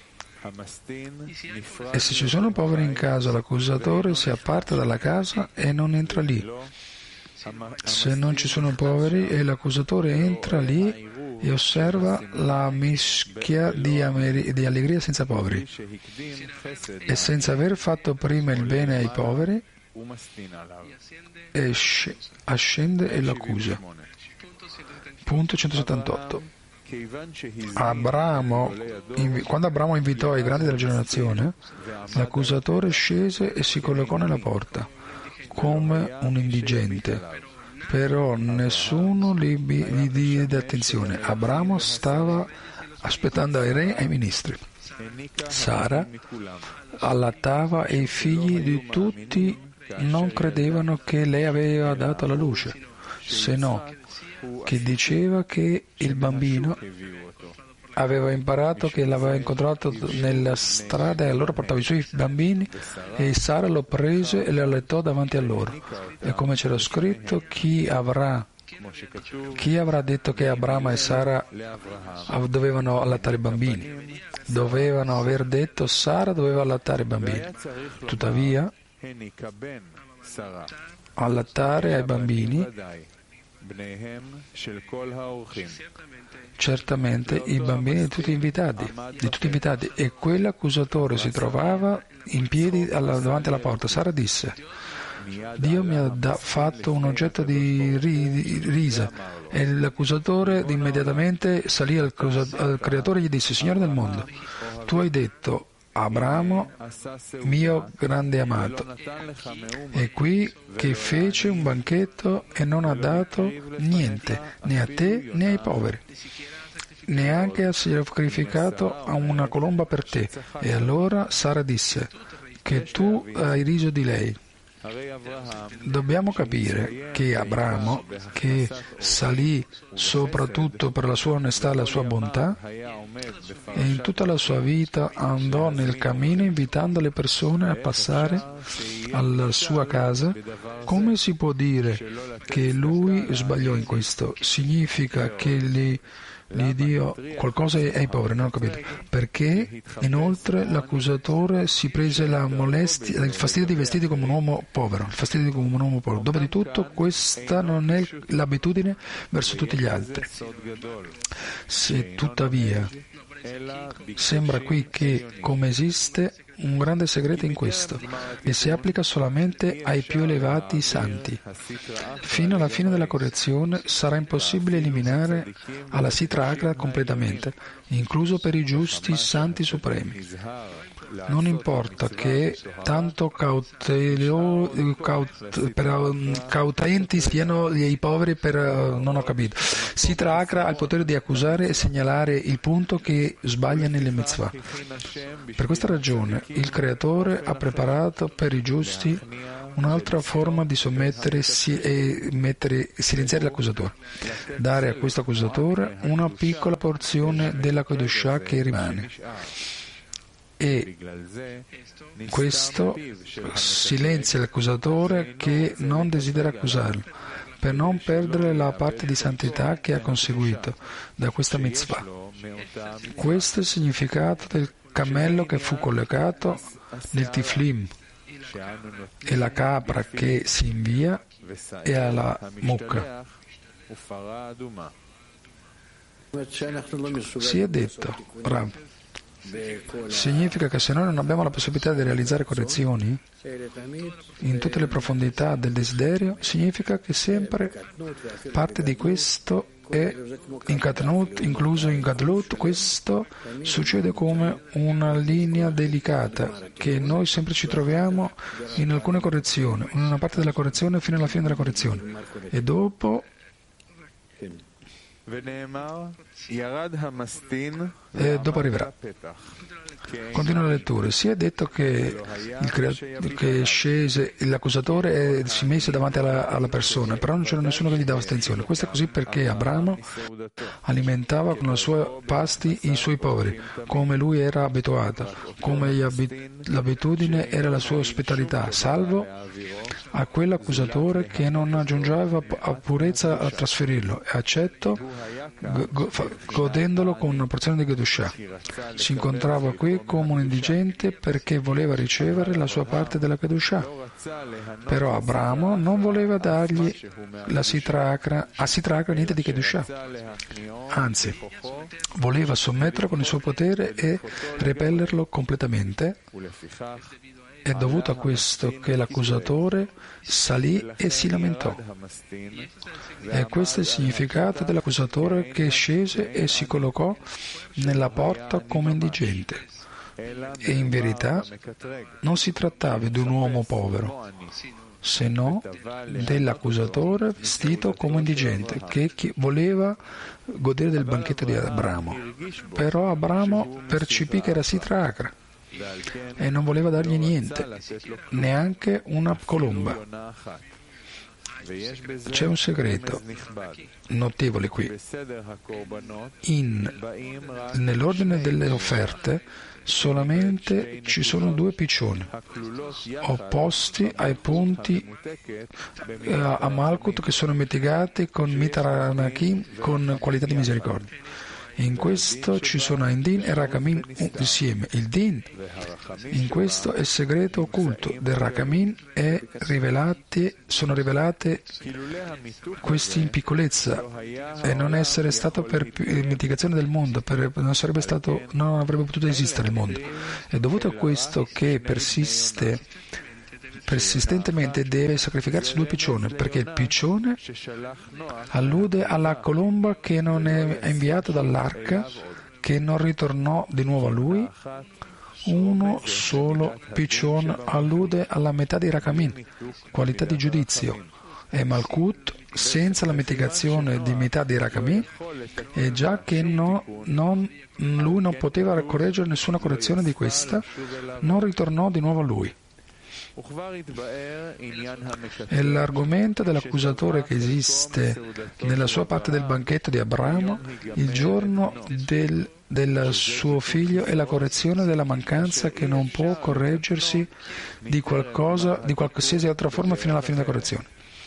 se ci sono poveri in casa, l'accusatore si apparta dalla casa e non entra lì. Se non ci sono poveri, e l'accusatore entra lì e osserva la mischia di allegria senza poveri. E senza aver fatto prima il bene ai poveri, ascende e l'accusa. Punto 178. Quando Abramo invitò i grandi della generazione, l'accusatore scese e si collocò nella porta come un indigente, però nessuno gli diede attenzione. Abramo stava aspettando ai re e ai ministri. Sara allattava e i figli di tutti non credevano che lei aveva dato alla luce, se no che diceva che il bambino aveva imparato, che l'aveva incontrato nella strada e allora portava i suoi bambini e Sara lo prese e lo allattò davanti a loro. E come c'era scritto, chi avrà detto che Abramo e Sara dovevano allattare i bambini? Dovevano aver detto Sara doveva allattare i bambini. Tuttavia, allattare ai bambini, certamente i bambini di tutti invitati, e quell'accusatore si trovava in piedi davanti alla porta. Sara disse: Dio mi ha fatto un oggetto di risa. E l'accusatore immediatamente salì al creatore e gli disse: Signore del mondo, tu hai detto Abramo, mio grande amato, è qui che fece un banchetto e non ha dato niente, né a te né ai poveri, neanche ha sacrificato a una colomba per te. E allora Sara disse che tu hai riso di lei. Dobbiamo capire che Abramo, che salì soprattutto per la sua onestà e la sua bontà, e in tutta la sua vita andò nel cammino invitando le persone a passare alla sua casa, come si può dire che lui sbagliò in questo? Significa che gli dio qualcosa ai poveri, non ho capito. Perché inoltre l'accusatore si prese la molestia, il fastidio di vestire come un uomo povero, Dopotutto questa non è l'abitudine verso tutti gli altri. Se tuttavia sembra qui che come esiste un grande segreto in questo, e si applica solamente ai più elevati santi. Fino alla fine della correzione sarà impossibile eliminare alla Sitra Achra completamente, incluso per i giusti santi supremi. Non importa che tanto cautenti siano i poveri non ho capito. Sitra Achra ha il potere di accusare e segnalare il punto che sbaglia nelle mitzvah. Per questa ragione il Creatore ha preparato per i giusti un'altra forma di sommettersi e silenziare l'accusatore, dare a questo accusatore una piccola porzione della Kedushah che rimane. E questo silenzia l'accusatore che non desidera accusarlo, per non perdere la parte di santità che ha conseguito da questa mitzvah. Questo è il significato del cammello che fu collegato nel tiflim, e la capra che si invia e alla mucca. Si è detto, Rav, significa che se noi non abbiamo la possibilità di realizzare correzioni in tutte le profondità del desiderio, significa che sempre parte di questo è incluso in Gadlut. Questo succede come una linea delicata che noi sempre ci troviamo in alcune correzioni, in una parte della correzione fino alla fine della correzione, e dopo arriverà. Continua la lettura. Si è detto che scese l'accusatore e si mise davanti alla persona, però non c'era nessuno che gli dava attenzione. Questo è così perché Abramo alimentava con i suoi pasti i suoi poveri, come lui era abituato, come l'abitudine era la sua ospitalità, salvo a quell'accusatore che non aggiungeva purezza a trasferirlo, e accetto godendolo con una porzione di Kedushah. Si incontrava qui come un indigente perché voleva ricevere la sua parte della Kedushah. Però Abramo non voleva dargli a Sitra Achra niente di Kedushah. Anzi, voleva sommetterlo con il suo potere e repellerlo completamente. È dovuto a questo che l'accusatore salì e si lamentò. E questo è il significato dell'accusatore che scese e si collocò nella porta come indigente. E in verità non si trattava di un uomo povero, se no dell'accusatore vestito come indigente che voleva godere del banchetto di Abramo. Però Abramo percepì che era Sitra Achra e non voleva dargli niente, neanche una colomba. C'è un segreto notevole qui. Nell'ordine delle offerte solamente ci sono due piccioni opposti ai punti a Malkut che sono mitigati con Mitaranakim con qualità di misericordia. In questo ci sono Indin e Rakamin insieme. Il Din, in questo è il segreto occulto del Rakamin, sono rivelate questi in piccolezza, e non essere stato per mitigazione del mondo, non avrebbe potuto esistere il mondo. È dovuto a questo che persistentemente deve sacrificarsi due piccioni, perché il piccione allude alla colomba che non è inviata dall'arca, che non ritornò di nuovo a lui. Uno solo piccione allude alla metà di Rakamin, qualità di giudizio, e Malkut senza la mitigazione di metà di Rakamin, e già che lui non poteva correggere nessuna correzione di questa, non ritornò di nuovo a lui. È l'argomento dell'accusatore che esiste nella sua parte del banchetto di Abramo il giorno del suo figlio e la correzione della mancanza che non può correggersi di qualsiasi altra forma fino alla fine della correzione.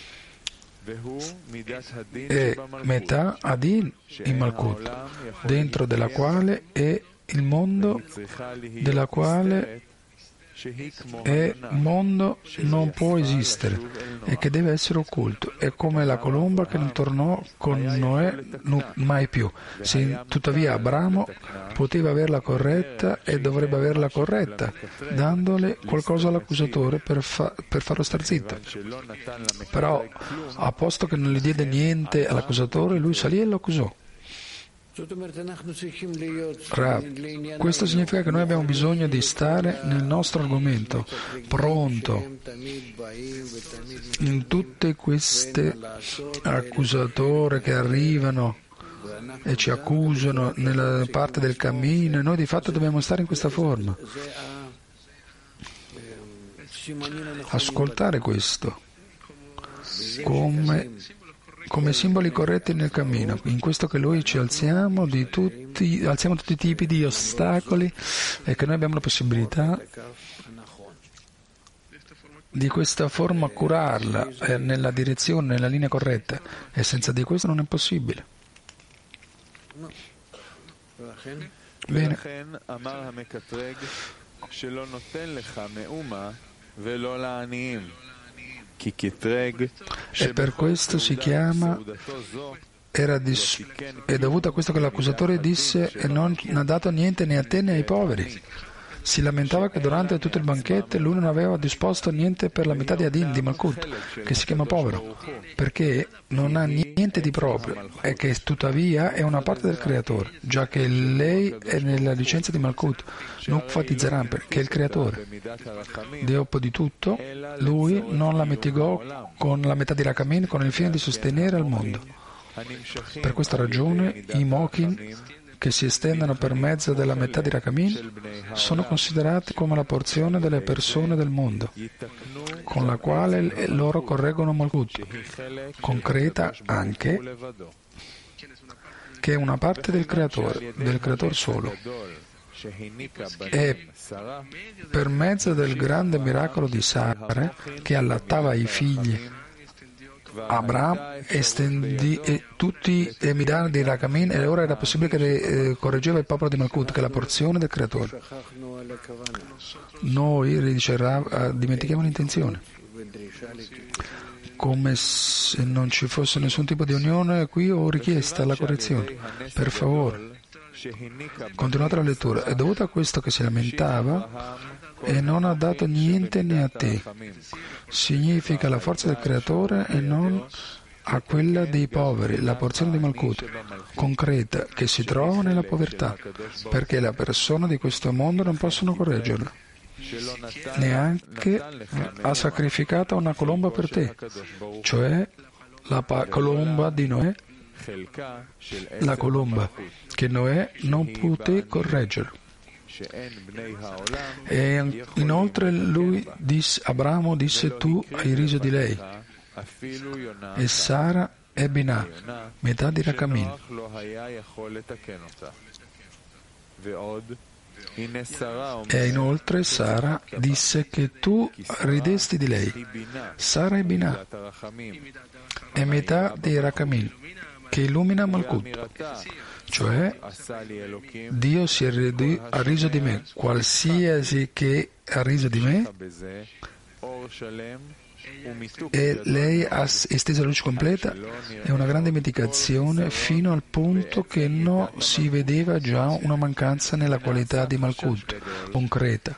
E metà Adin in Malkut, dentro della quale è il mondo della quale e mondo non può esistere e che deve essere occulto. È come la colomba che non tornò con Noè mai più. Se tuttavia Abramo poteva averla corretta e dovrebbe averla corretta, dandole qualcosa all'accusatore per farlo star zitto. Però, a posto che non gli diede niente all'accusatore, lui salì e lo accusò. Questo significa che noi abbiamo bisogno di stare nel nostro argomento, pronto in tutte queste accusatori che arrivano e ci accusano nella parte del cammino, e noi di fatto dobbiamo stare in questa forma. Ascoltare questo come simboli corretti nel cammino, in questo che noi ci alziamo tutti i tipi di ostacoli, e che noi abbiamo la possibilità di questa forma curarla nella direzione, nella linea corretta, e senza di questo non è possibile. Bene. E per questo si chiama, è dovuto a questo che l'accusatore disse: e non ha dato niente né a te né ai poveri. si lamentava che durante tutto il banchetto lui non aveva disposto niente per la metà di Adin, di Malkut, che si chiama povero, perché non ha niente di proprio e che tuttavia è una parte del creatore, già che lei è nella licenza di Malkut, Nukva di Zeran, che è il creatore. Dopo di tutto, lui non la mitigò con la metà di Rakamin con il fine di sostenere al mondo. Per questa ragione i Mokin che si estendono per mezzo della metà di Rakamin sono considerati come la porzione delle persone del mondo, con la quale loro correggono Malkut, concreta anche, che è una parte del creatore solo. E per mezzo del grande miracolo di Sara, che allattava i figli, Abraham estendì tutti i Midan di Rakamin e ora era possibile che correggeva il popolo di Malkut, che è la porzione del creatore. Noi, dice Rav, dimentichiamo l'intenzione, come se non ci fosse nessun tipo di unione qui o richiesta alla correzione. Per favore, continuate la lettura. È dovuto a questo che si lamentava e non ha dato niente né a te. Significa la forza del creatore e non a quella dei poveri, la porzione di Malkut, concreta, che si trova nella povertà, perché le persone di questo mondo non possono correggerla. Neanche ha sacrificato una colomba per te, cioè la colomba di Noè, la colomba che Noè non poté correggere. E inoltre Abramo disse: tu hai riso di lei, e Sara è Binah, metà di Rakamin. E inoltre Sara disse che tu ridesti di lei. Sara è Binah, è metà di Rakamin, che illumina Malkut. Cioè, Dio ha riso di me, qualsiasi che ha riso di me, e lei ha esteso la luce completa e una grande mitigazione fino al punto che non si vedeva già una mancanza nella qualità di Malkut concreta.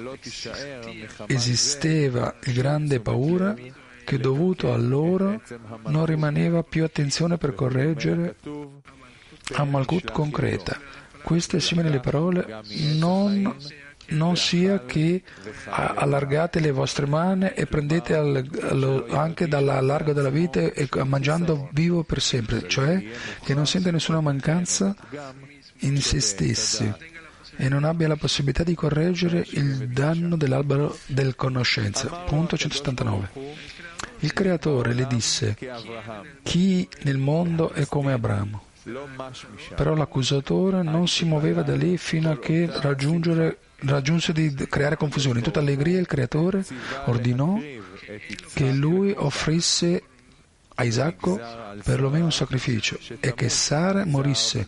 Esisteva il grande paura che dovuto a loro non rimaneva più attenzione per correggere a Malkut concreta. Queste simili alle parole: non sia che allargate le vostre mani e prendete anche dal largo della vita e mangiando vivo per sempre, cioè che non sente nessuna mancanza in se stessi e non abbia la possibilità di correggere il danno dell'albero del conoscenza. Punto 179. Il creatore le disse: chi nel mondo è come Abramo? Però l'accusatore non si muoveva da lì fino a che raggiunse di creare confusione. In tutta allegria il creatore ordinò che lui offrisse a Isacco perlomeno un sacrificio e che Sara morisse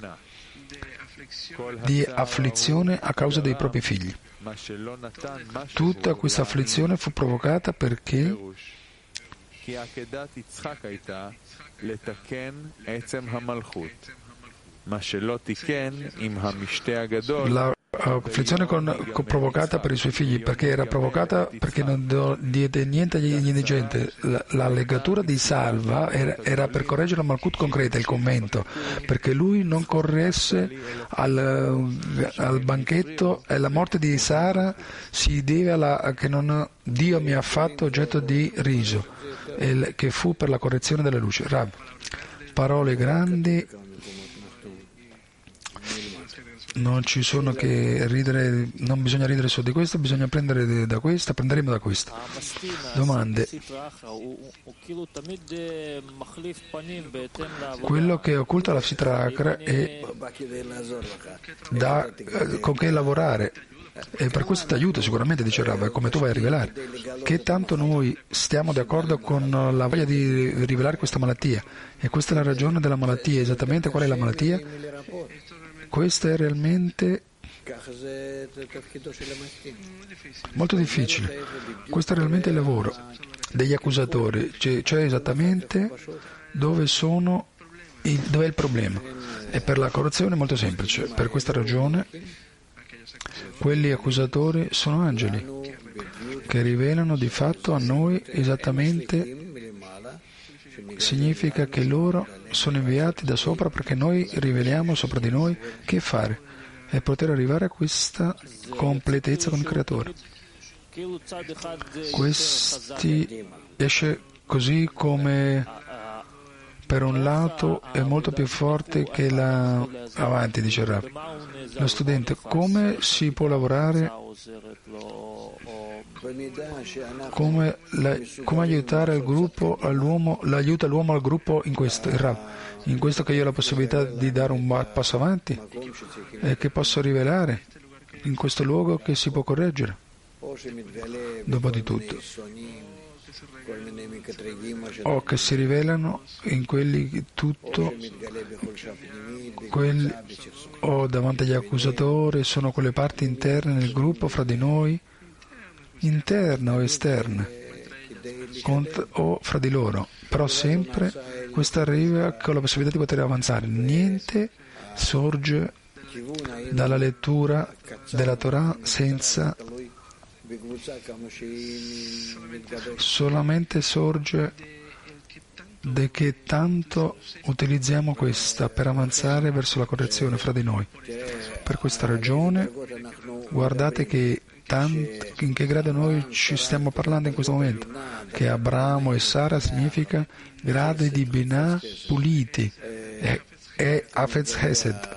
di afflizione a causa dei propri figli. Tutta questa afflizione fu provocata perché l'afflizione provocata per i suoi figli, perché era provocata perché non diede niente agli indigenti. La legatura di Salva era per correggere la Malkut concreta, il commento, perché lui non corresse al banchetto, e la morte di Sara si deve che Dio mi ha fatto oggetto di riso, che fu per la correzione della luce. Rab, parole grandi, non ci sono che ridere, non bisogna ridere su di questo, bisogna prendere da questa, prenderemo da questa. Domande. Quello che occulta la Sitra Achra è con che lavorare, e per questo ti aiuta sicuramente, dice Rav, come tu vai a rivelare. Che tanto noi stiamo d'accordo con la voglia di rivelare questa malattia, e questa è la ragione della malattia. Esattamente qual è la malattia? Questo è realmente molto difficile. Questo è realmente il lavoro degli accusatori, cioè esattamente dove è il problema. E per la corruzione è molto semplice. Per questa ragione Quelli accusatori sono angeli che rivelano di fatto a noi esattamente. Significa che loro sono inviati da sopra perché noi riveliamo sopra di noi che fare e poter arrivare a questa completezza con il Creatore. Questi esce così come per un lato è molto più forte che la avanti, dice il Rav. Lo studente, come si può lavorare, come aiutare il gruppo, l'aiuta l'uomo al gruppo in questo, il Rav, in questo che io ho la possibilità di dare un passo avanti e che posso rivelare in questo luogo che si può correggere. Dopo di tutto, o che si rivelano in quelli tutto o davanti agli accusatori sono quelle parti interne nel gruppo fra di noi, interne o esterne, o fra di loro, però sempre questo arriva con la possibilità di poter avanzare. Niente sorge dalla lettura della Torah senza, solamente sorge da che tanto utilizziamo questa per avanzare verso la correzione fra di noi. Per questa ragione guardate che in che grado noi ci stiamo parlando in questo momento, che Abramo e Sara significa gradi di Binah puliti e Hafez Hesed.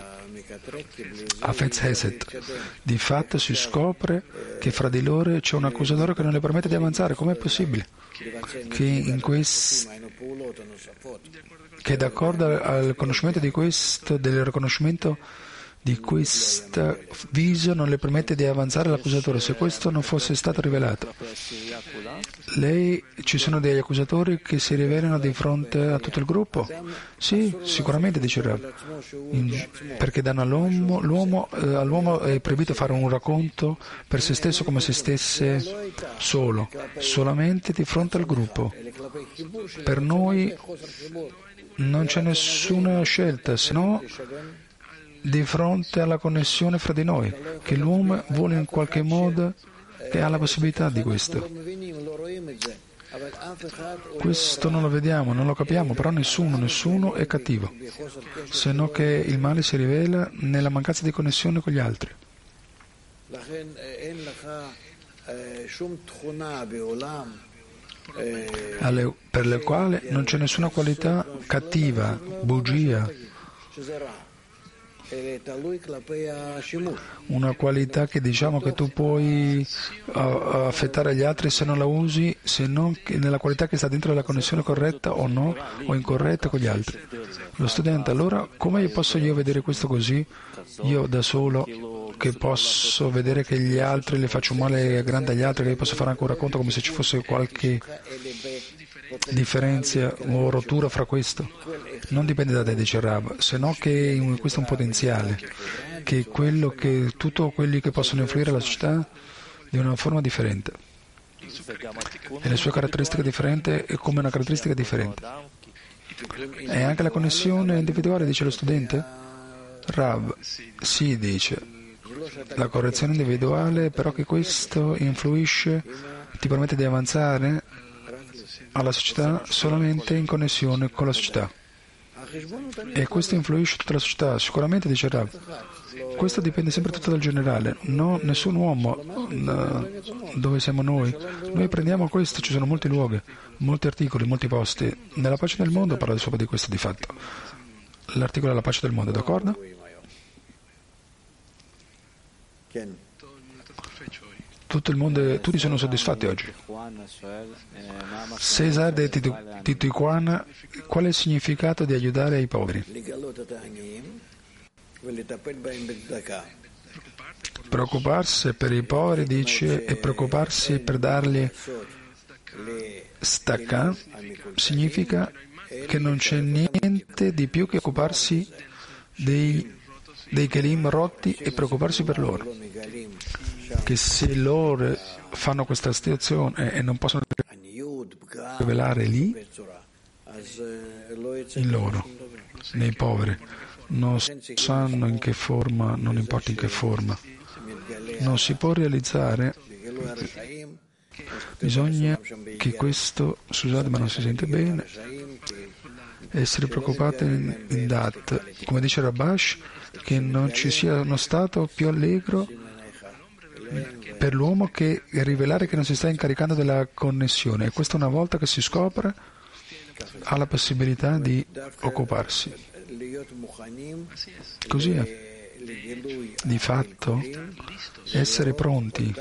Di fatto si scopre che fra di loro c'è un accusatore che non le permette di avanzare. Com'è possibile? Che d'accordo al conoscimento di questo, del riconoscimento di questa viso non le permette di avanzare l'accusatore. Se questo non fosse stato rivelato, ci sono degli accusatori che si rivelano di fronte a tutto il gruppo? Sì, sicuramente, dice il Rav, perché danno all'uomo è proibito fare un racconto per se stesso come se stesse solo, solamente di fronte al gruppo. Per noi non c'è nessuna scelta, se no di fronte alla connessione fra di noi, che l'uomo vuole in qualche modo, che ha la possibilità di questo. Questo non lo vediamo, non lo capiamo, però nessuno è cattivo, se no che il male si rivela nella mancanza di connessione con gli altri. Per le quali non c'è nessuna qualità cattiva, bugia, una qualità che diciamo che tu puoi affettare gli altri se non la usi, se non nella qualità che sta dentro la connessione corretta o no, o incorretta con gli altri. Lo studente, allora come posso io vedere questo così, io da solo, che posso vedere che gli altri le faccio male grande agli altri, che io posso fare anche un racconto come se ci fosse qualche differenza o rottura fra questo? Non dipende da te, dice Rav, se no che questo è un potenziale, che tutti quelli che possono influire alla società di una forma differente e le sue caratteristiche differenti è come una caratteristica differente. E anche la connessione individuale, dice lo studente? Rav, sì, dice la correzione individuale, però che questo influisce, ti permette di avanzare alla società solamente in connessione con la società. E questo influisce tutta la società, sicuramente, dice Rav. Questo dipende sempre tutto dal generale, no, nessun uomo dove siamo noi. Noi prendiamo questo, ci sono molti luoghi, molti articoli, molti posti. Nella pace del mondo parla sopra di questo di fatto. L'articolo è la pace del mondo, d'accordo? Tutto il mondo, tutti sono soddisfatti oggi. Cesar di Tijuana, qual è il significato di aiutare i poveri? Preoccuparsi per i poveri, dice, e preoccuparsi per dargli stacca, significa che non c'è niente di più che occuparsi dei kelim rotti e preoccuparsi per loro. Che se loro fanno questa situazione e non possono rivelare lì, in loro, nei poveri, non sanno in che forma, non importa in che forma, non si può realizzare. Bisogna che questo, scusate ma non si sente bene, essere preoccupati in Dat, come dice Rabash, che non ci sia uno stato più allegro per l'uomo che rivelare che non si sta incaricando della connessione, e questa una volta che si scopre ha la possibilità di occuparsi. Così è. Di fatto essere pronti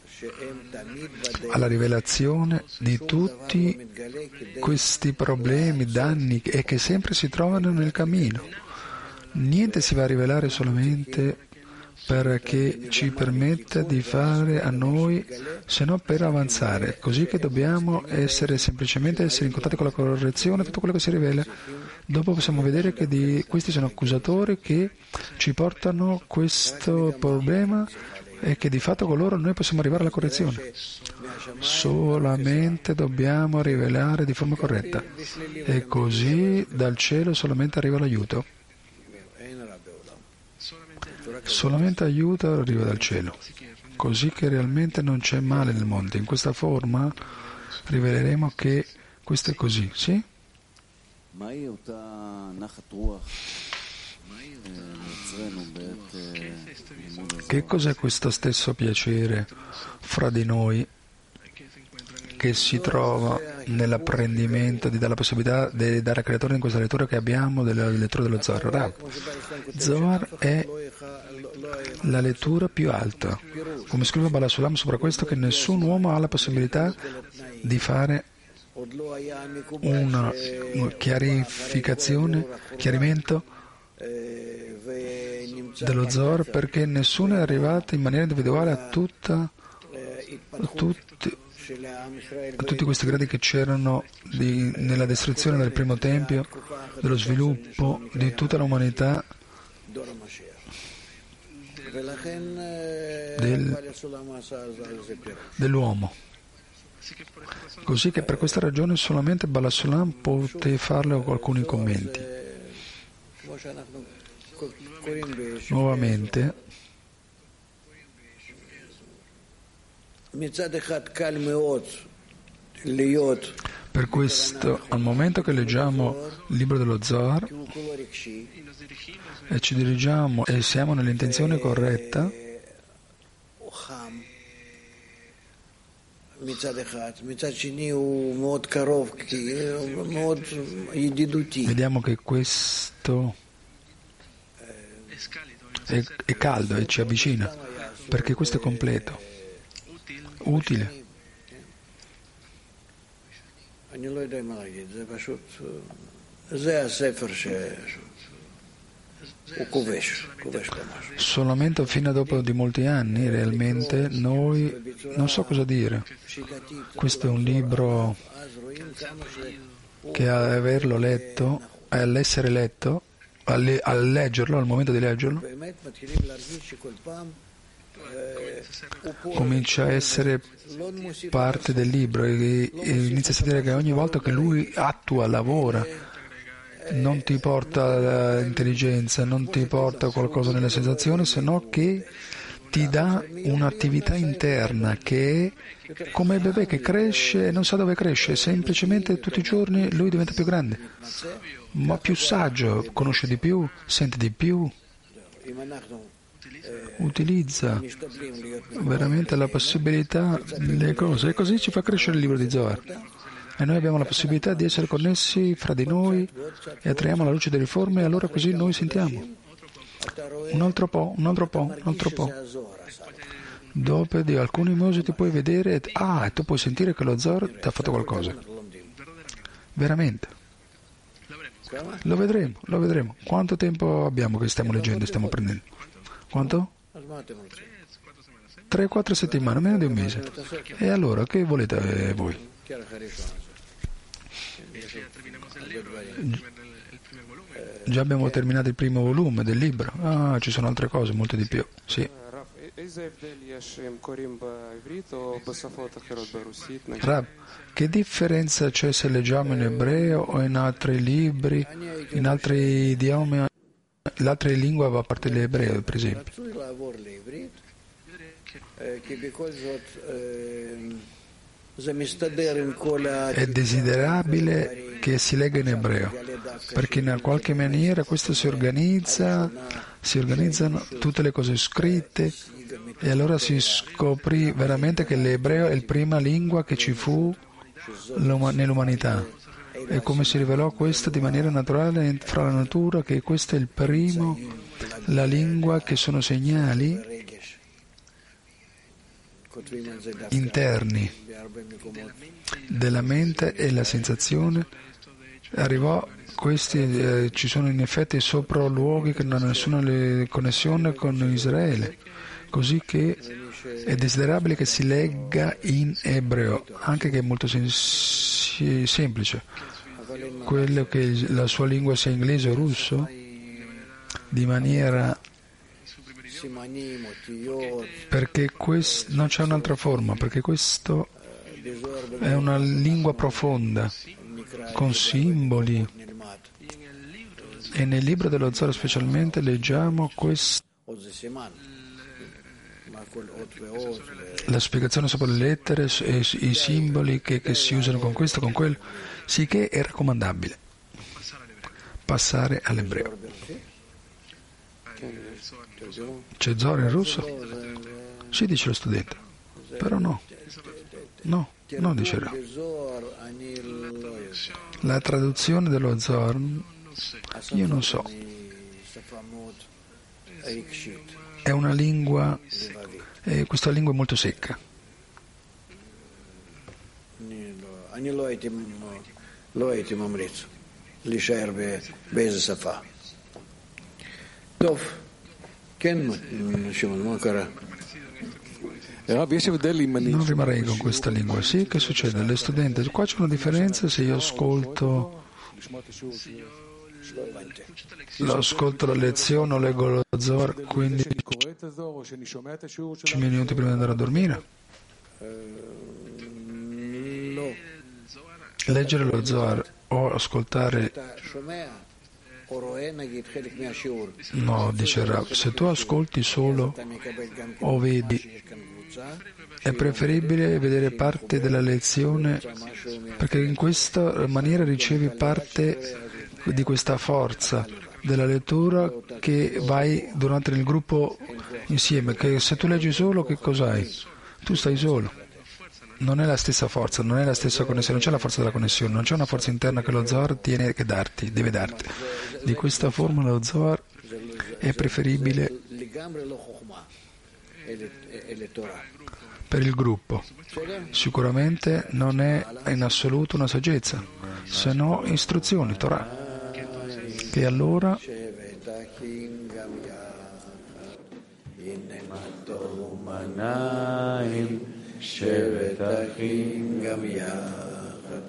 alla rivelazione di tutti questi problemi, danni e che sempre si trovano nel cammino. Niente si va a rivelare solamente perché ci permetta di fare a noi, se no per avanzare. Così che dobbiamo semplicemente essere in contatto con la correzione, tutto quello che si rivela. Dopo possiamo vedere che questi sono accusatori che ci portano questo problema e che di fatto con loro noi possiamo arrivare alla correzione. Solamente dobbiamo rivelare di forma corretta e così dal cielo solamente arriva l'aiuto. Solamente aiuto arriva dal cielo, così che realmente non c'è male nel mondo. In questa forma riveleremo che questo è così, sì? Che cos'è questo stesso piacere fra di noi che si trova nell'apprendimento di dare la possibilità di dare al creatore in questa lettura che abbiamo della lettura dello Zohar? Rav, Zohar è la lettura più alta. Come scrive Baal HaSulam sopra questo, che nessun uomo ha la possibilità di fare una chiarimento dello Zohar, perché nessuno è arrivato in maniera individuale a tutti questi gradi che c'erano nella distruzione del primo tempio, dello sviluppo di tutta l'umanità, dell'uomo. Così che per questa ragione solamente Baal HaSulam poté farle con alcuni commenti. Nuovamente, per questo, al momento che leggiamo il libro dello Zohar e ci dirigiamo e siamo nell'intenzione corretta, vediamo che questo è caldo e ci avvicina, perché questo è completo, utile. Solamente fino a dopo di molti anni realmente noi non so cosa dire. Questo è un libro che averlo letto, all'essere letto, al leggerlo, al momento di leggerlo, comincia a essere parte del libro e inizia a sentire che ogni volta che lui attua, lavora, non ti porta intelligenza, non ti porta qualcosa nelle sensazioni, se no che ti dà un'attività interna che è come il bebè che cresce e non sa dove cresce, semplicemente tutti i giorni lui diventa più grande, ma più saggio, conosce di più, sente di più, utilizza veramente la possibilità delle cose e così ci fa crescere il libro di Zohar. E noi abbiamo la possibilità di essere connessi fra di noi e attraiamo la luce delle riforme, e allora così noi sentiamo. Un altro po'. Dopo di alcuni mesi ti puoi vedere e tu puoi sentire che lo Zohar ti ha fatto qualcosa. Veramente. Lo vedremo. Quanto tempo abbiamo che stiamo leggendo e stiamo apprendendo? Quanto? 3-4 settimane, meno di un mese. E allora, che volete voi? Già abbiamo terminato il primo volume del libro. Ci sono altre cose, molte di più. Sì. Rav, che differenza c'è se leggiamo in ebreo o in altri libri, in altri idiomi, l'altra lingua a parte l'ebreo, per esempio? È desiderabile che si legga in ebreo, perché in qualche maniera questo si organizzano tutte le cose scritte e allora si scoprì veramente che l'ebreo è la prima lingua che ci fu nell'umanità. E come si rivelò questo di maniera naturale fra la natura, che questo è il primo, la lingua che sono segnali interni della mente e la sensazione. Arrivò questi, ci sono in effetti sopralluoghi che non hanno nessuna connessione con Israele, così che è desiderabile che si legga in ebreo, anche che è molto semplice. Quello che la sua lingua sia inglese o russo, di maniera, perché non c'è un'altra forma, perché questo è una lingua profonda, con simboli. E nel libro dello Zohar specialmente leggiamo la spiegazione sopra le lettere e i simboli che si usano con questo, con quello, sicché è raccomandabile passare all'ebreo. C'è Zohar in russo? Sì, dice lo studente, però no, dice Ra. La traduzione dello Zohar io non so, è una lingua, questa lingua è molto secca. Non rimarrei con questa lingua. Sì, che succede? Le studenti, qua c'è una differenza se io ascolto la lezione o leggo lo Zohar 15 minuti prima di andare a dormire. Leggere lo Zohar o ascoltare. No, dice Rav, se tu ascolti solo o vedi, è preferibile vedere parte della lezione, perché in questa maniera ricevi parte di questa forza della lettura che vai durante il gruppo insieme, che se tu leggi solo che cos'hai? Tu stai solo. Non è la stessa forza, non è la stessa connessione, non c'è la forza della connessione, non c'è una forza interna che lo Zohar deve darti. Di questa forma lo Zohar è preferibile per il gruppo. Sicuramente non è in assoluto una saggezza, se no istruzioni, Torah. Che allora שבט אחים גם יחד,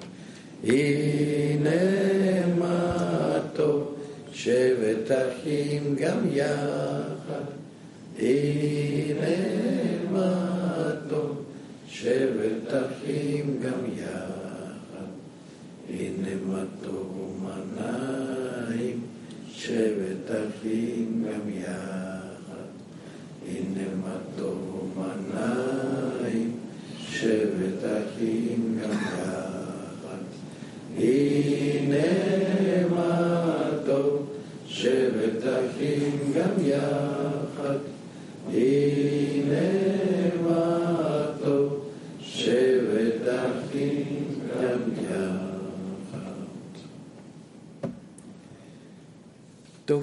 הנה מה טוב, שבט אחים גם יחד, הנה מה טוב, שבט אחים גם יחד, הנה מה טוב ומנעים, שבט אחים גם יחד, הנה מה טוב ומנעים, שבט אחים גם יחד, הנה מה טוב, שבט אחים גם יחד, הנה